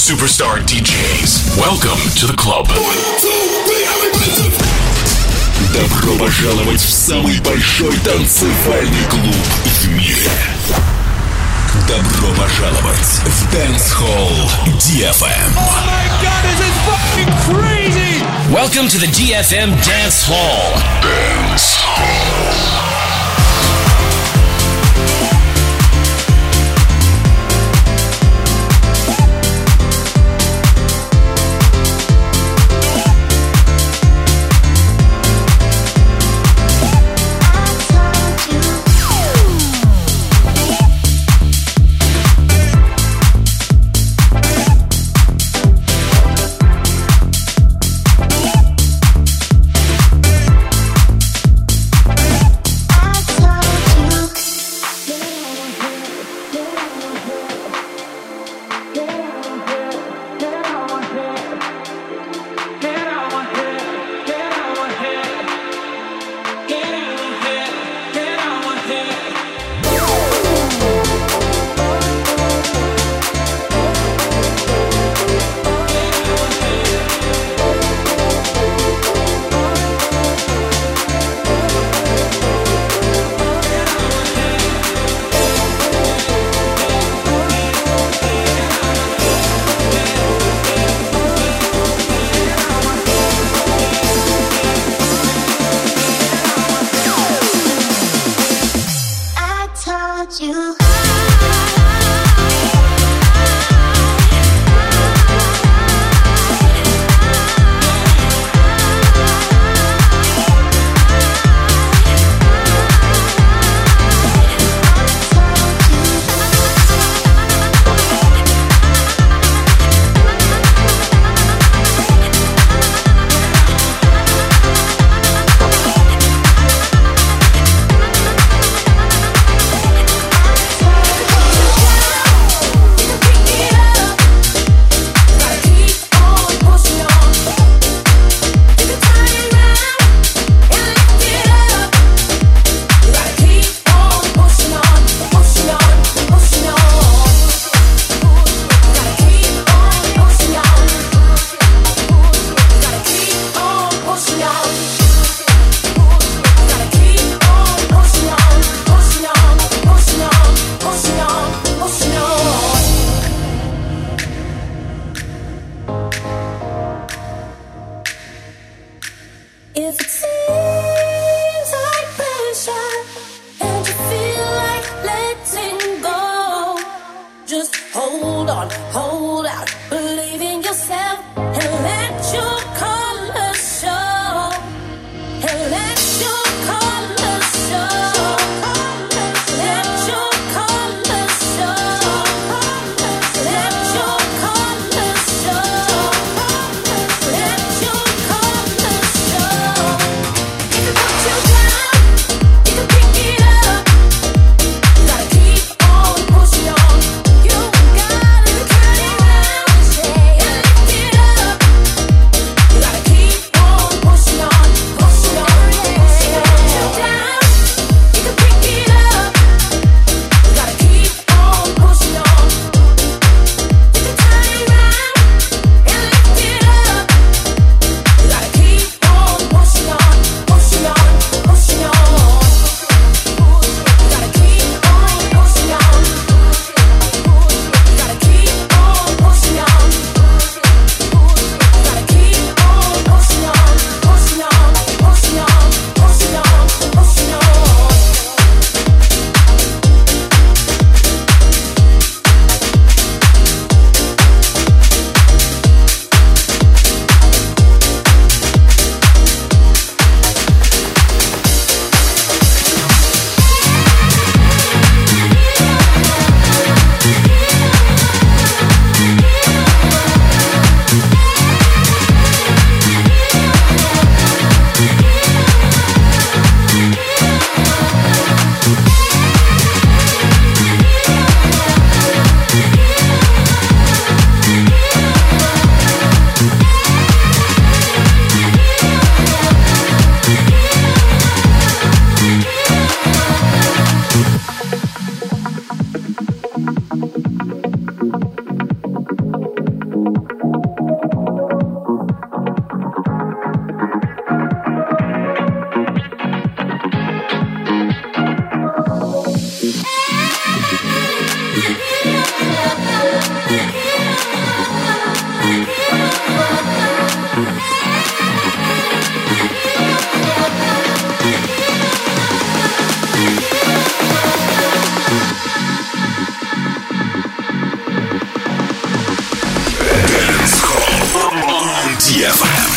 Superstar ди джейс. Welcome to the club. Добро пожаловать в самый большой танцевальный клуб в мире. Добро пожаловать в Dance Hall ди эф эм. Oh my god, this is fucking crazy! Welcome to the ди эф эм Dance Hall. Dance Hall. эф эм.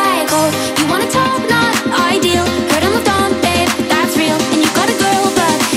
You wanna talk, not ideal. Heard I'm moved on, babe, that's real. And you got a girl, but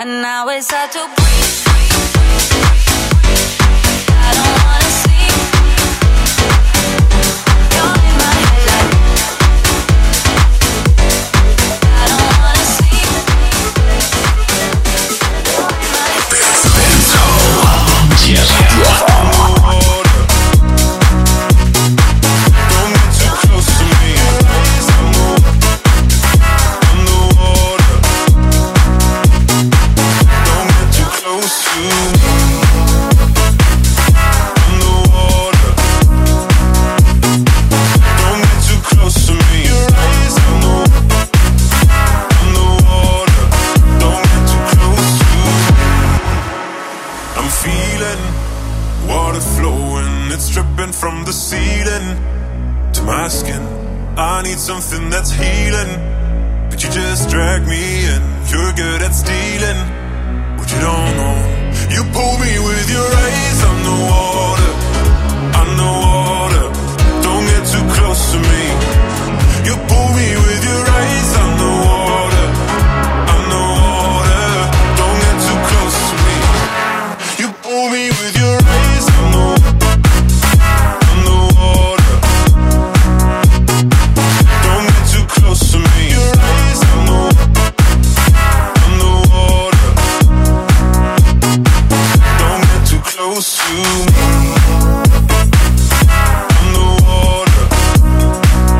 and now it's hard to breathe. I don't wanna sleep. You're in my head like I don't wanna sleep. You're in my head. Don't get too close to me. Underwater. Don't get too close to me. Underwater. Don't get too close to me. Underwater. Don't get too close to me. I'm feeling water flowing, it's dripping from the ceiling to my skin. I need something that's healing, but you just drag me in. You're good at stealing what you don't know. You pull me with your eyes underwater, underwater. Don't get too close to me. You pull me with your eyes underwater, underwater. Don't get too close to me. You pull me with your eyes underwater, underwater. Don't get too close to me. Your eyes underwater. Don't get too close to me. Underwater.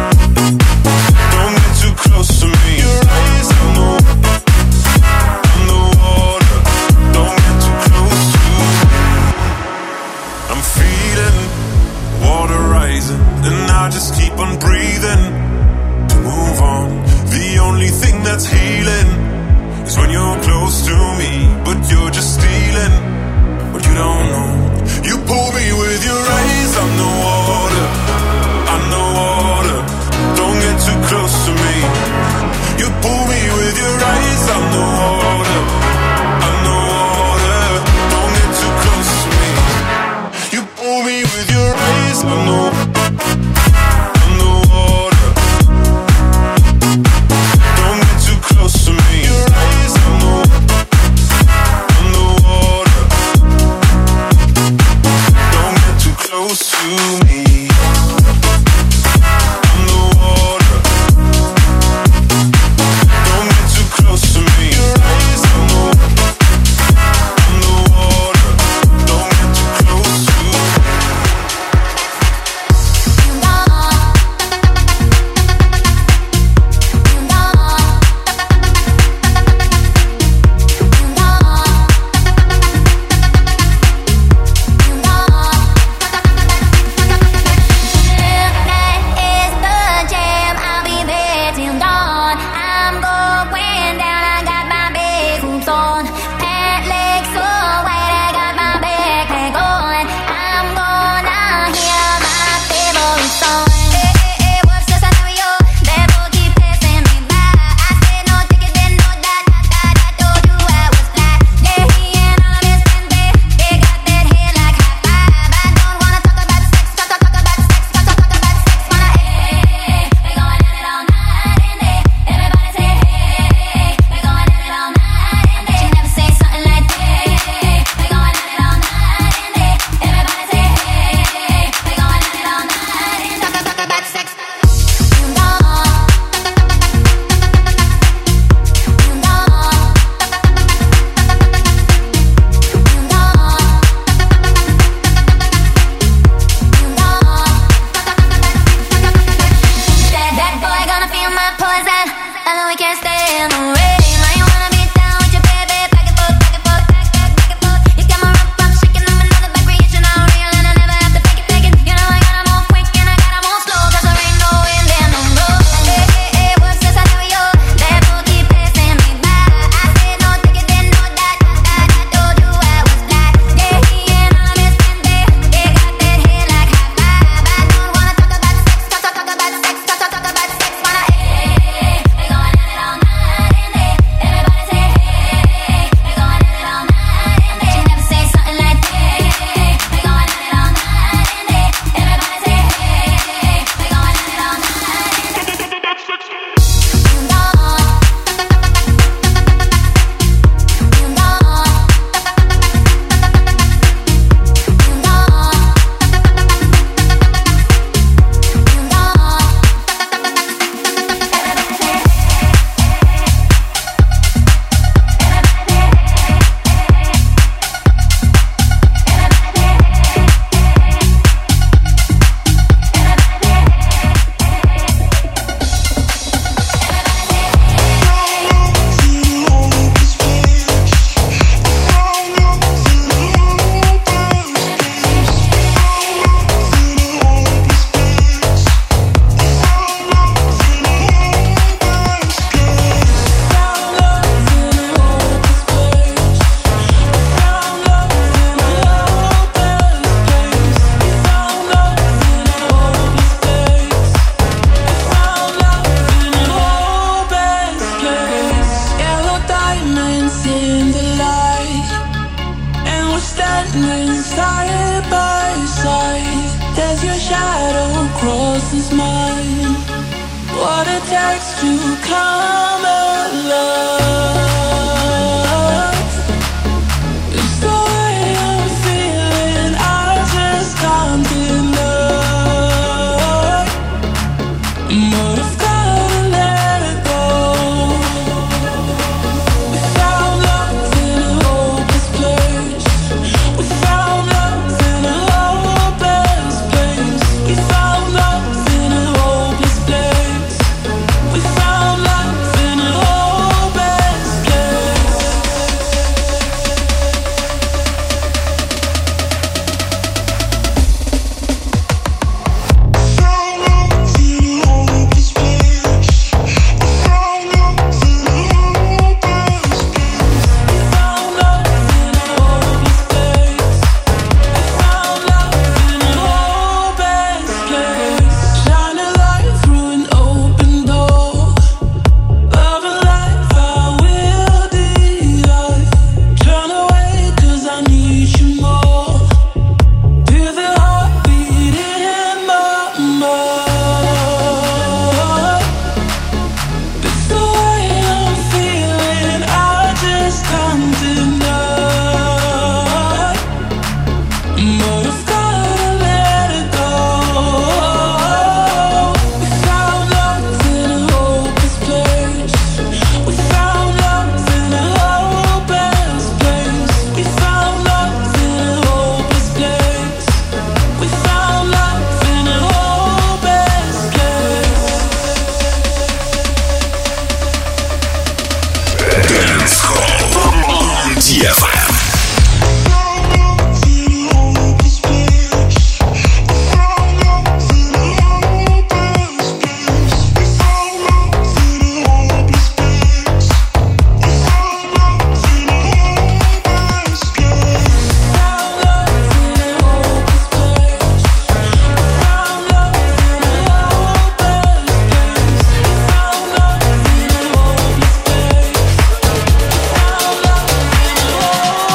takes to come alive. It's the way I'm feeling, I just can't deny. But I've gotta let it go. We found love in a hopeless place. We found love in a hopeless place. We found love in a hopeless place. We found love in a hopeless place. Shine a light through an open door. Love and life, I will deny. Turn away 'cause I need you more. Feel the heartbeat in my mind. It's the way I'm feeling, I just can't deny. But I've gotta let it go. We found love in a hopeless place. We found love in a hopeless place. We found love in a hopeless place. We found love in a hopeless place. Dance Hall on ди эф эм. Found love in a hopeless place.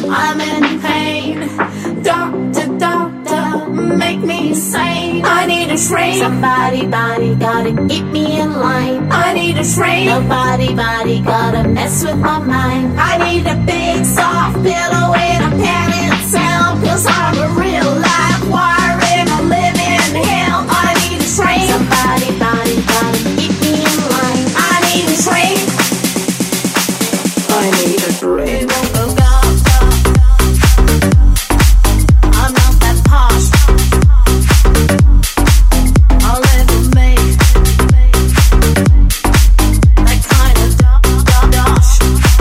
I'm in pain. Doctor, doctor, make me sane. I need a shrink. Somebody, body, gotta keep me in line. I need a shrink. Nobody, body, gotta mess with my mind. I need a big soft pillow in a padded cell. Cause I'm a real life wire in a living hell. I need a shrink. Somebody, body, gotta keep me in line. I need a shrink. I need a drink. I'm not that posh. I'll never make that kind of dosh.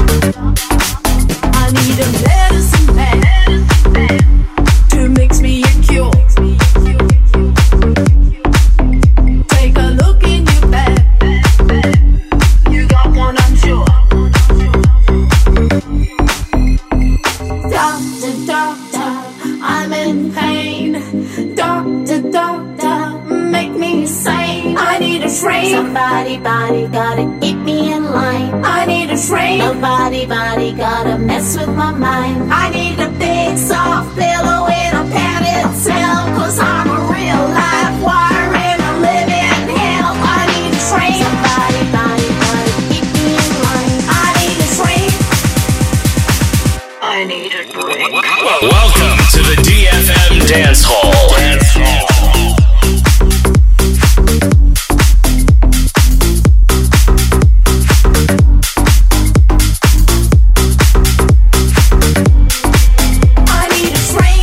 I need a medicine man to mix me a cure. Take a look in your bag. You got one, I'm sure. Doctor, doctor, I'm in pain. Doctor, doctor, make me sane. I need a shrink. Somebody, body, gotta keep me in line. I need a shrink. Nobody, body, gotta mess with my mind. I need a big soft pillow in a padded cell. Cause I'm a real life wire in a living hell. I need a shrink. Somebody, body, gotta keep me in line. I need a shrink. I need a drink. Welcome to the D F M Dance Hall. Dance Hall. I need a shrink.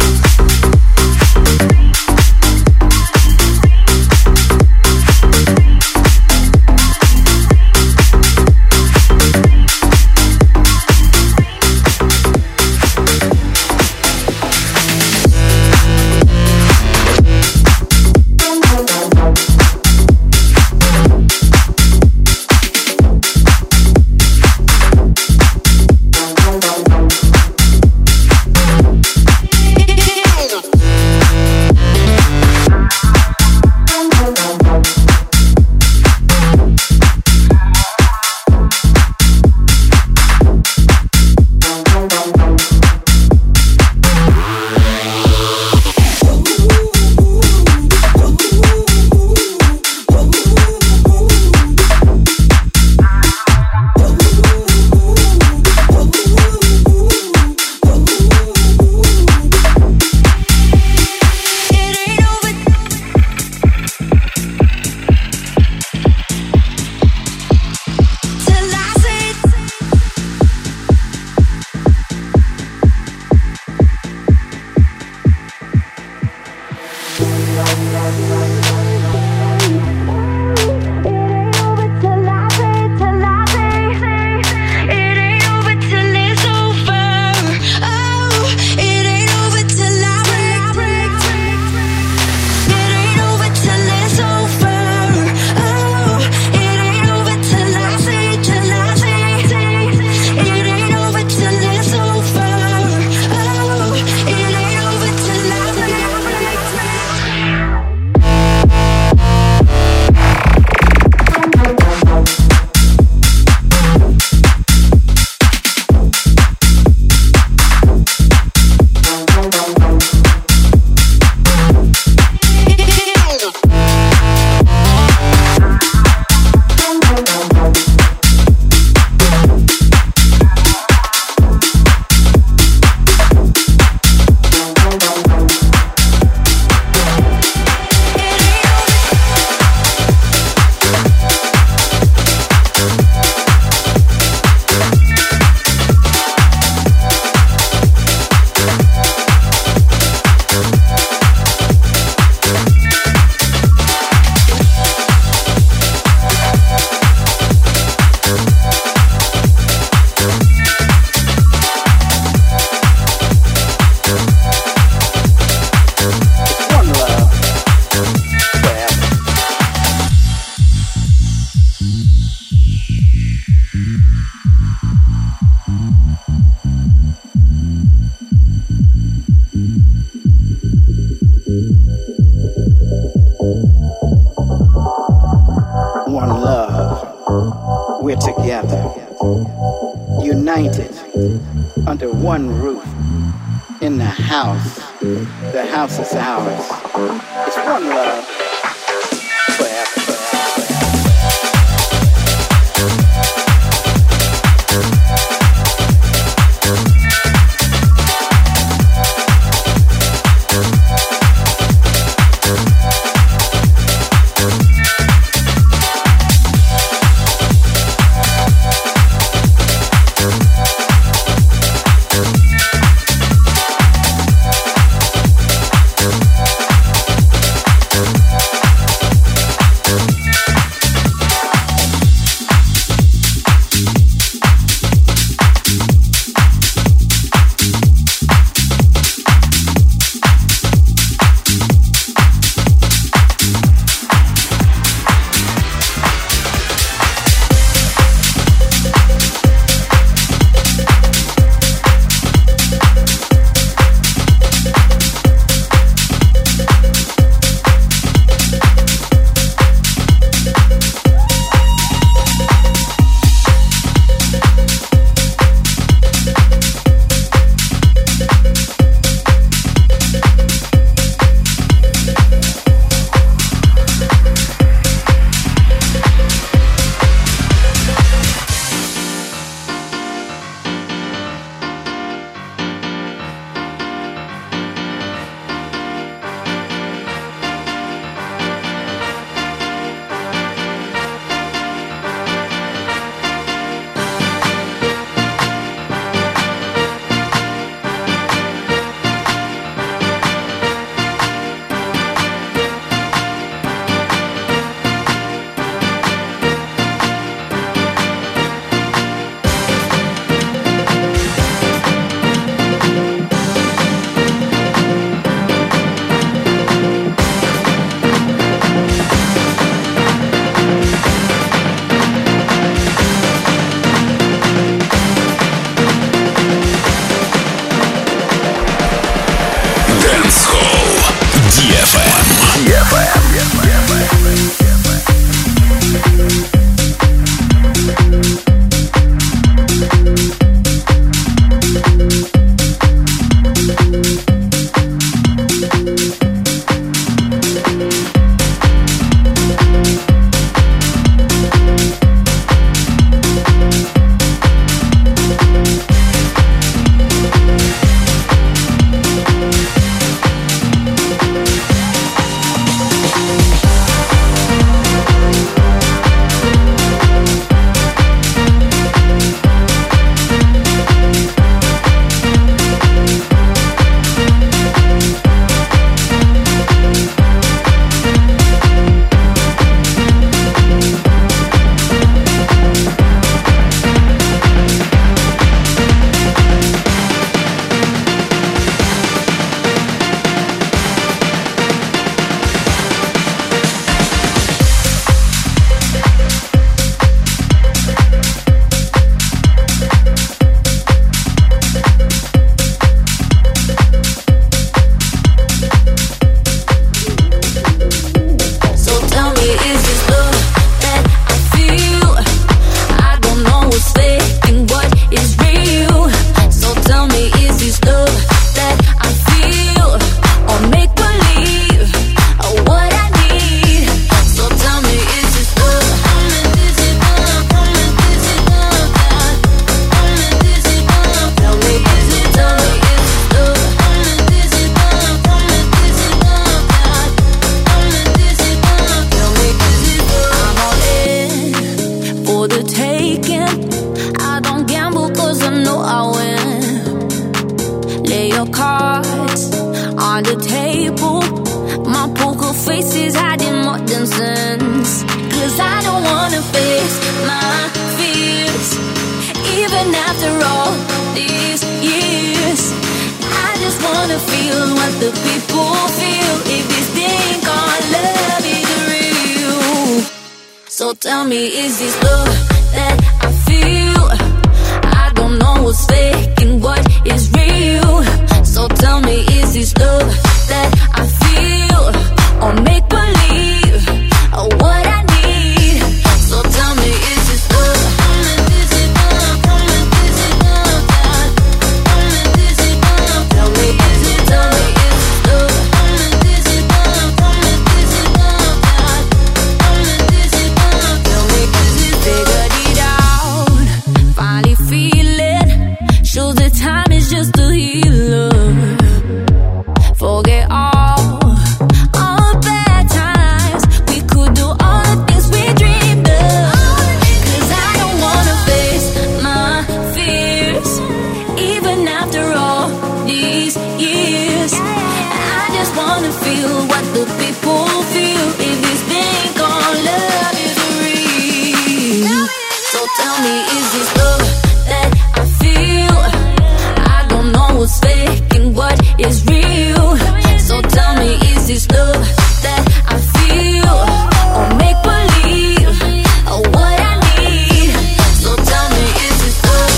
We're together, united under one roof. in the house. The house is ours. It's one love. Forever. So tell me, is this love that I feel? I don't know what's fake and what is real. So tell me, is this love that I feel? Or make believe, or what I need? So tell me, is this love? Is it love? Is it love? Is it love? Tell me, wanna feel what the people feel. If this thing called love is real, so tell me, is this love that I feel? I don't know what's fake and what is real. So tell me, is this love that I feel, or make believe, or what I need? So tell me, is this love?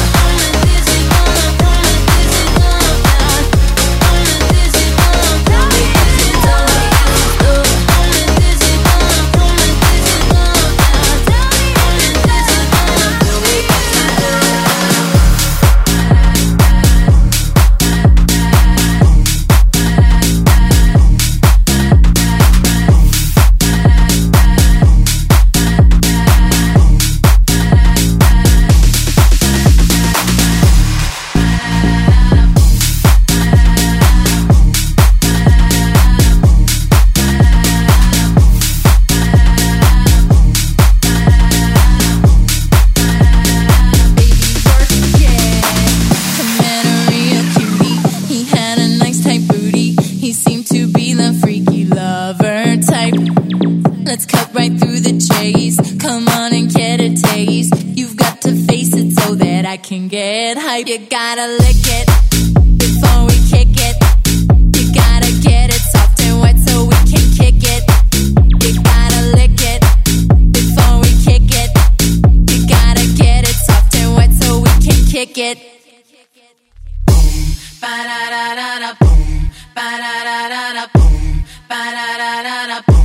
Let's cut right through the chase. Come on and get a taste. You've got to face it so that I can get hype. You gotta lick it before we kick it. You gotta get it soft and wet so we can kick it. You gotta lick it before we kick it. You gotta get it soft and wet so we can kick it. Boom, ba da da da da, boom, ba da da da da, boom, ba da da da da, boom.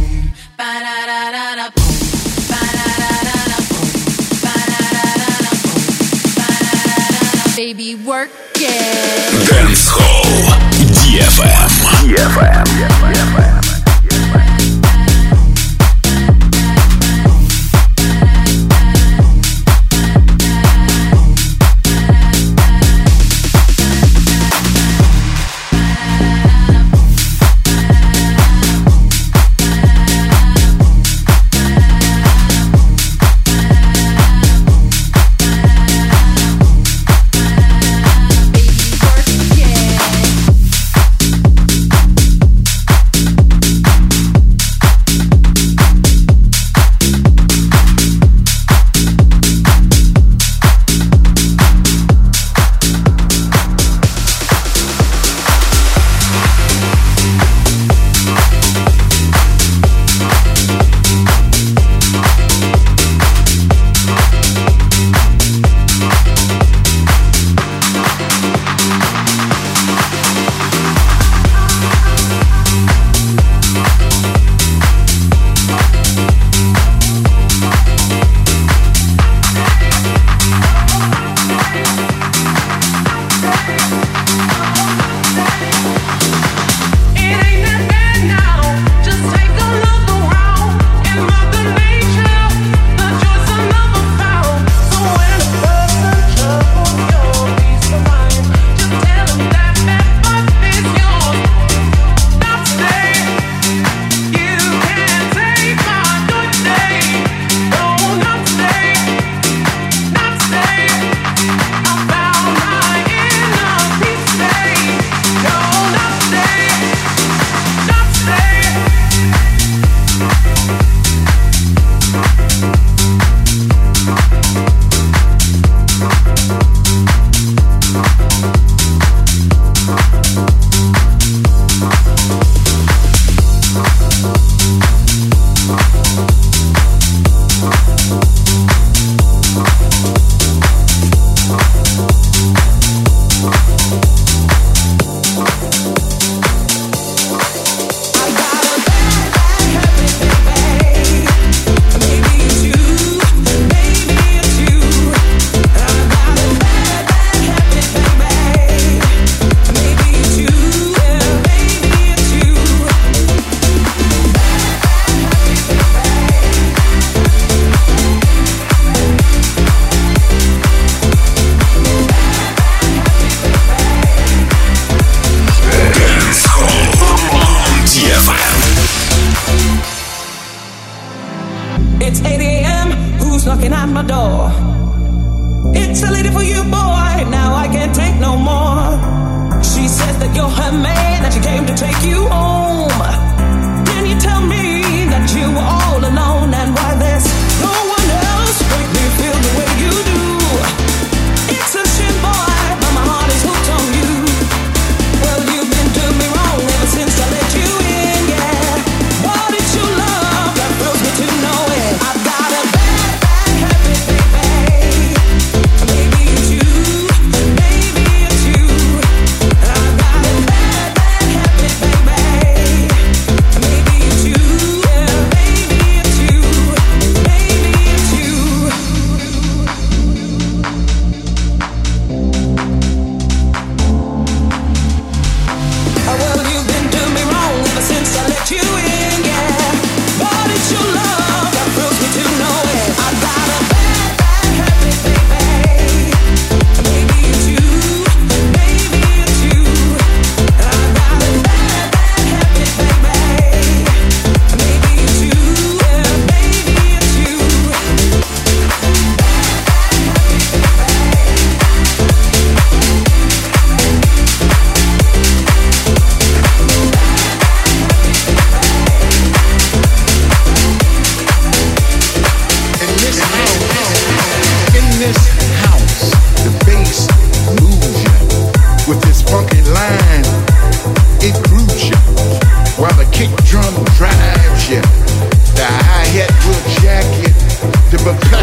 Baby, work it. Dance Hall ди эф эм. ди эф эм. ди эф эм. It's eight a.m. Who's knocking at my door? It's a lady for you, boy. Now I can't take no more. She says that you're her man, that she came to take you home.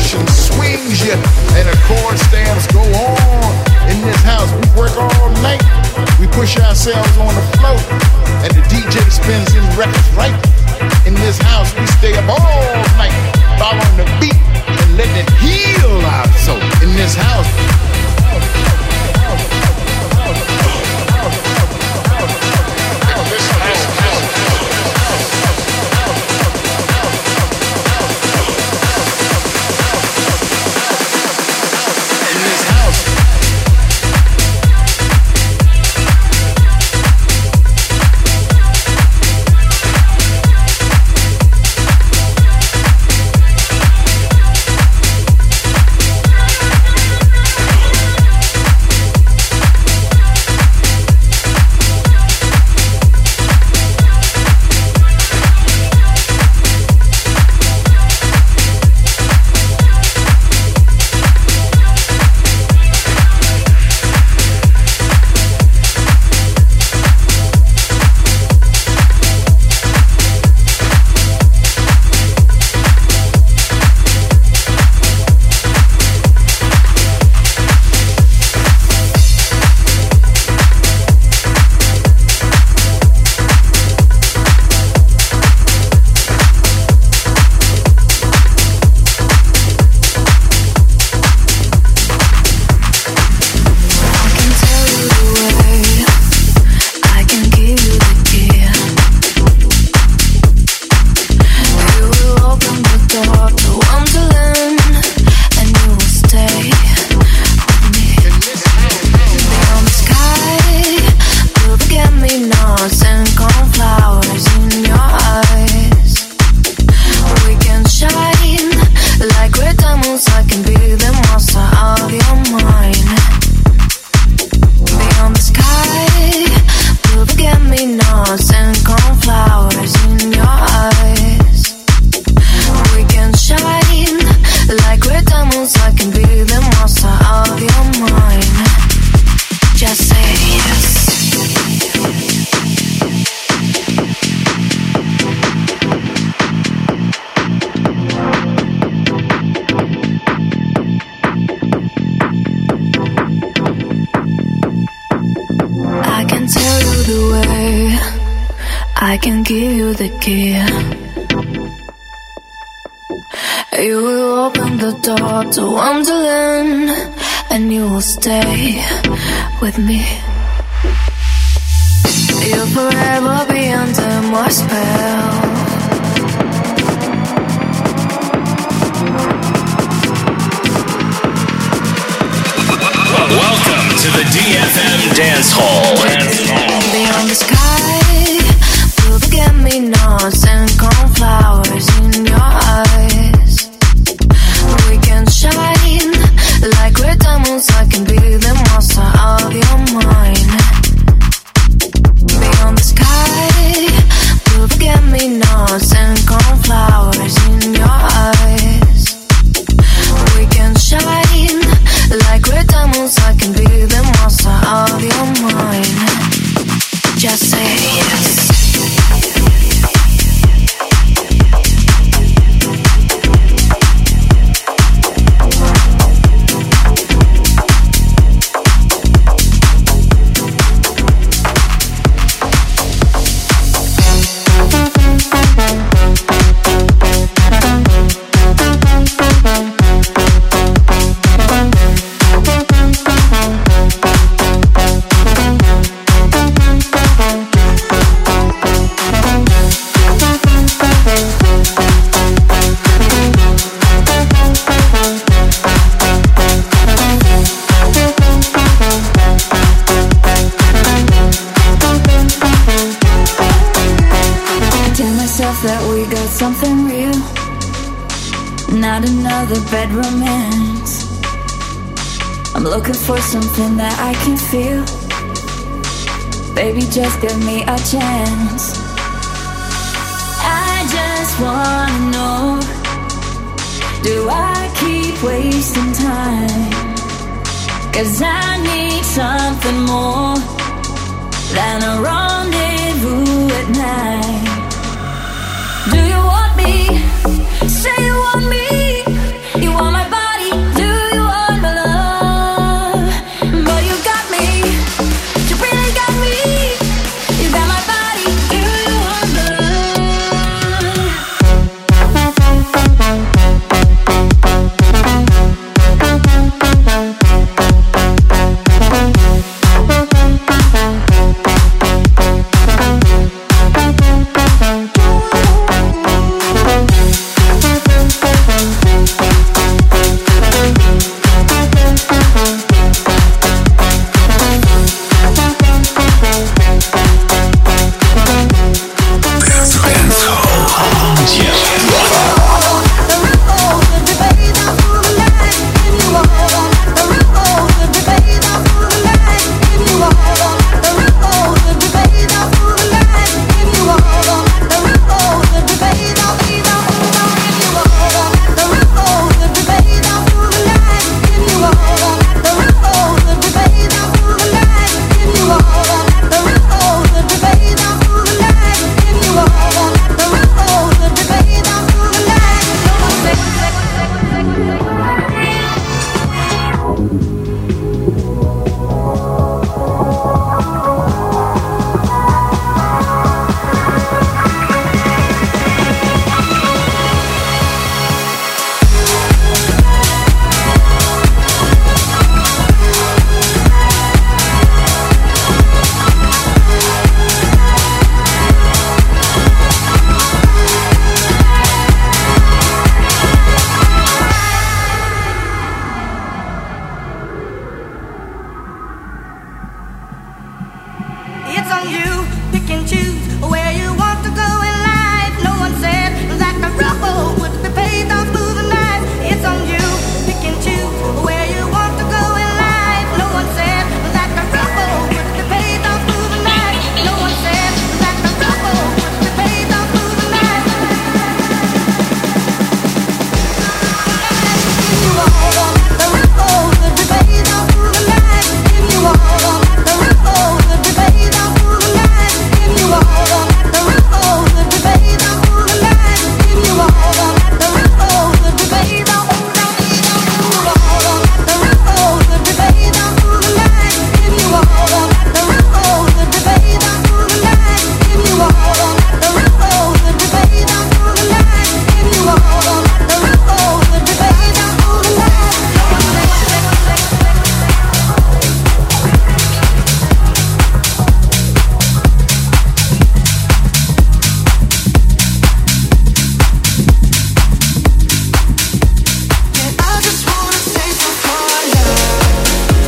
vibration swings you and the chord stamps go on. In this house, we work all night. We push ourselves on the floor and the D J spins his records right. In this house, we stay up all night, following the beat and letting it heal our soul. In this house. I can give you the key. You will open the door to Wonderland, and you will stay with me. You'll forever be under my spell. Welcome to the D F M Dance Hall. Beyond the sky, blue forget-me-nots and cornflowers in your eyes. We can shine like red diamonds. I can be the monster of your mind. Beyond the sky, blue forget-me-nots and cornflowers in your eyes. We can shine like red diamonds. I can be the monster of your mind. Just say yes. That we got something real, not another bad romance. I'm looking for something that I can feel. Baby, just give me a chance. I just wanna know, do I keep wasting time? 'Cause I need something more than a rendezvous at night. Do you want me? Say you want me. You want my on you. Pick and choose where you want to go in life. No one said that the road would be paved on smooth and nice. It's on you. Pick and choose where you want to go in life. No one said that the road would be paved on smooth and nice. No one said that the road would be paved on smooth and nice. If you hold on, the road would be paved on smooth and nice. If you hold on, the road would be paved on smooth and nice. If you hold on, the road would be paved on smooth and nice. If you hold on, the road would be paved on smooth and nice. If you hold on, the road would be paved on smooth and nice. If you hold on, the road would be paved on smooth and nice. If you hold on, the road would be paved on smooth and nice. If you hold on, the road would be paved on smooth and nice. I just wanna taste of your love.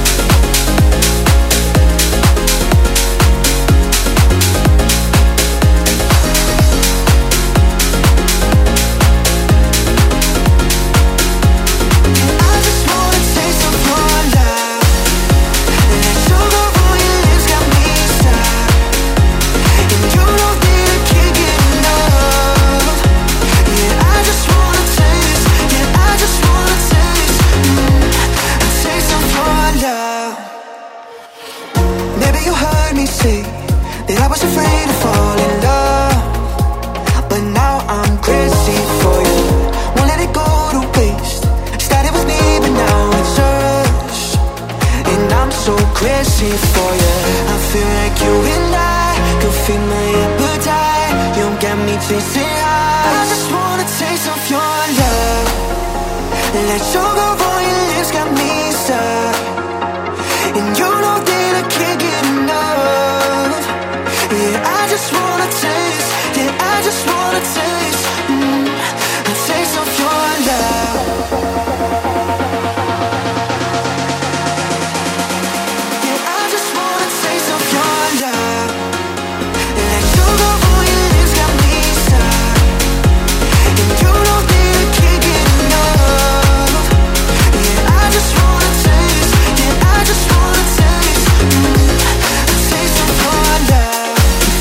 I just wanna taste of your love. That sugar on your lips got me stuck, and you don't need to kick it enough. Yeah, I just wanna taste. Yeah, I just wanna taste. Mm, a taste of your love. Maybe you heard me say that I was afraid to fall in love, but now I'm crazy for you. Won't let it go to waste. Started with me, but now it's us, and I'm so crazy for you. I feel like you and I could feed my appetite. You got me chasing high. I just want a taste of your love. Let sugar on your lips got me stuck, and you know that I can't get enough. Yeah, I just wanna taste. Yeah, I just wanna taste. Mm, a taste of your love. Yeah, I just wanna taste of your love. Let sugar on your lips got me stuck, and you know that I can't get enough. Yeah, I just wanna taste. Yeah, I just wanna taste. Mm, a taste of your love.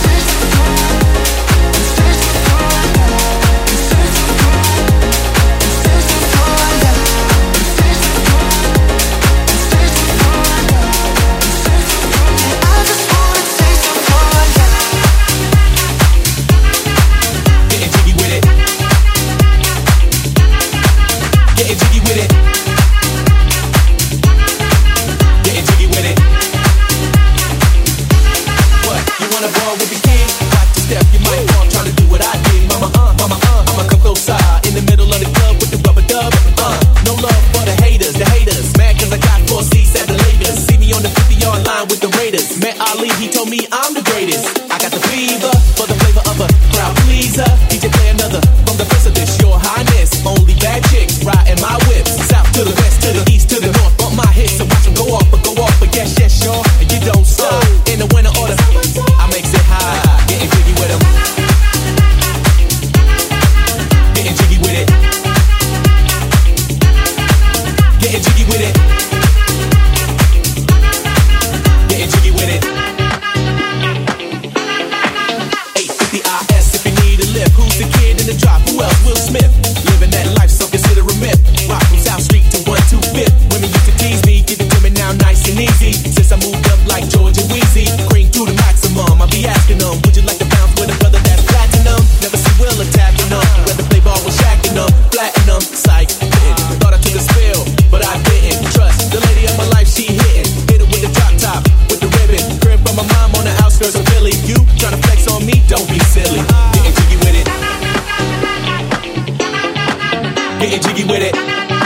Getting jiggy with it.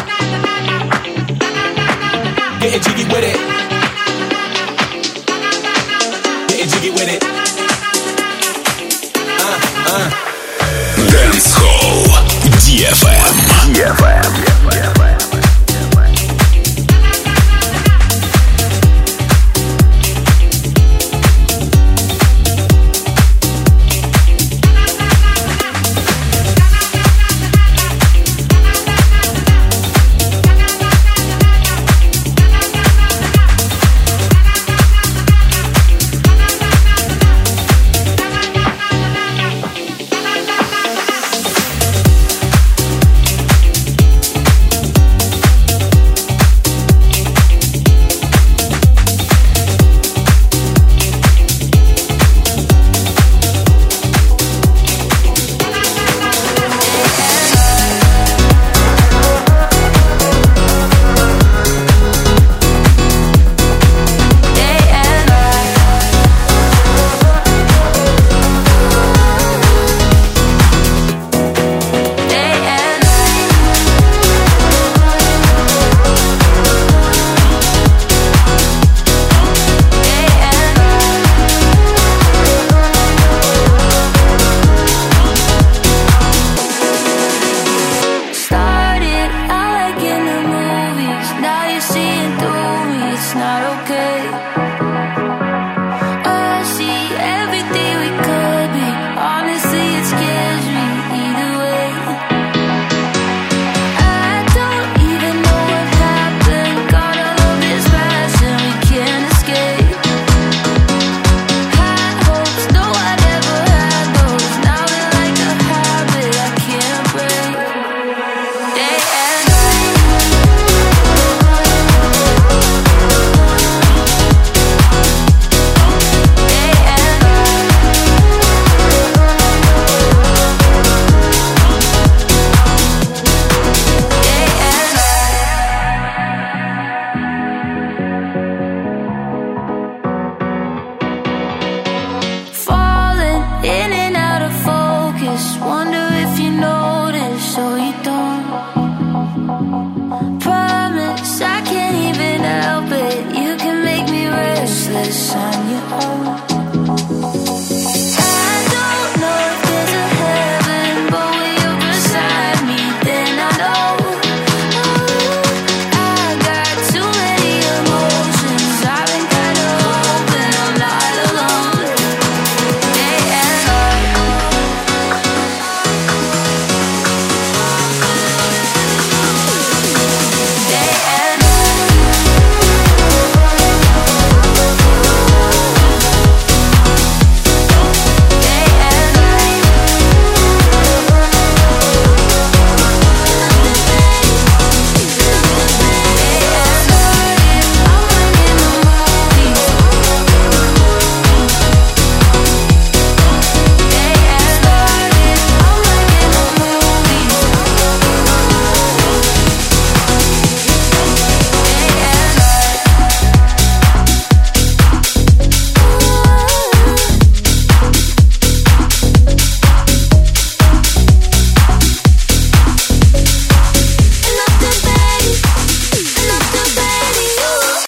Getting jiggy with it. Getting jiggy with it. Uh, uh. Dance Hall ди эф эм. ди эф эм.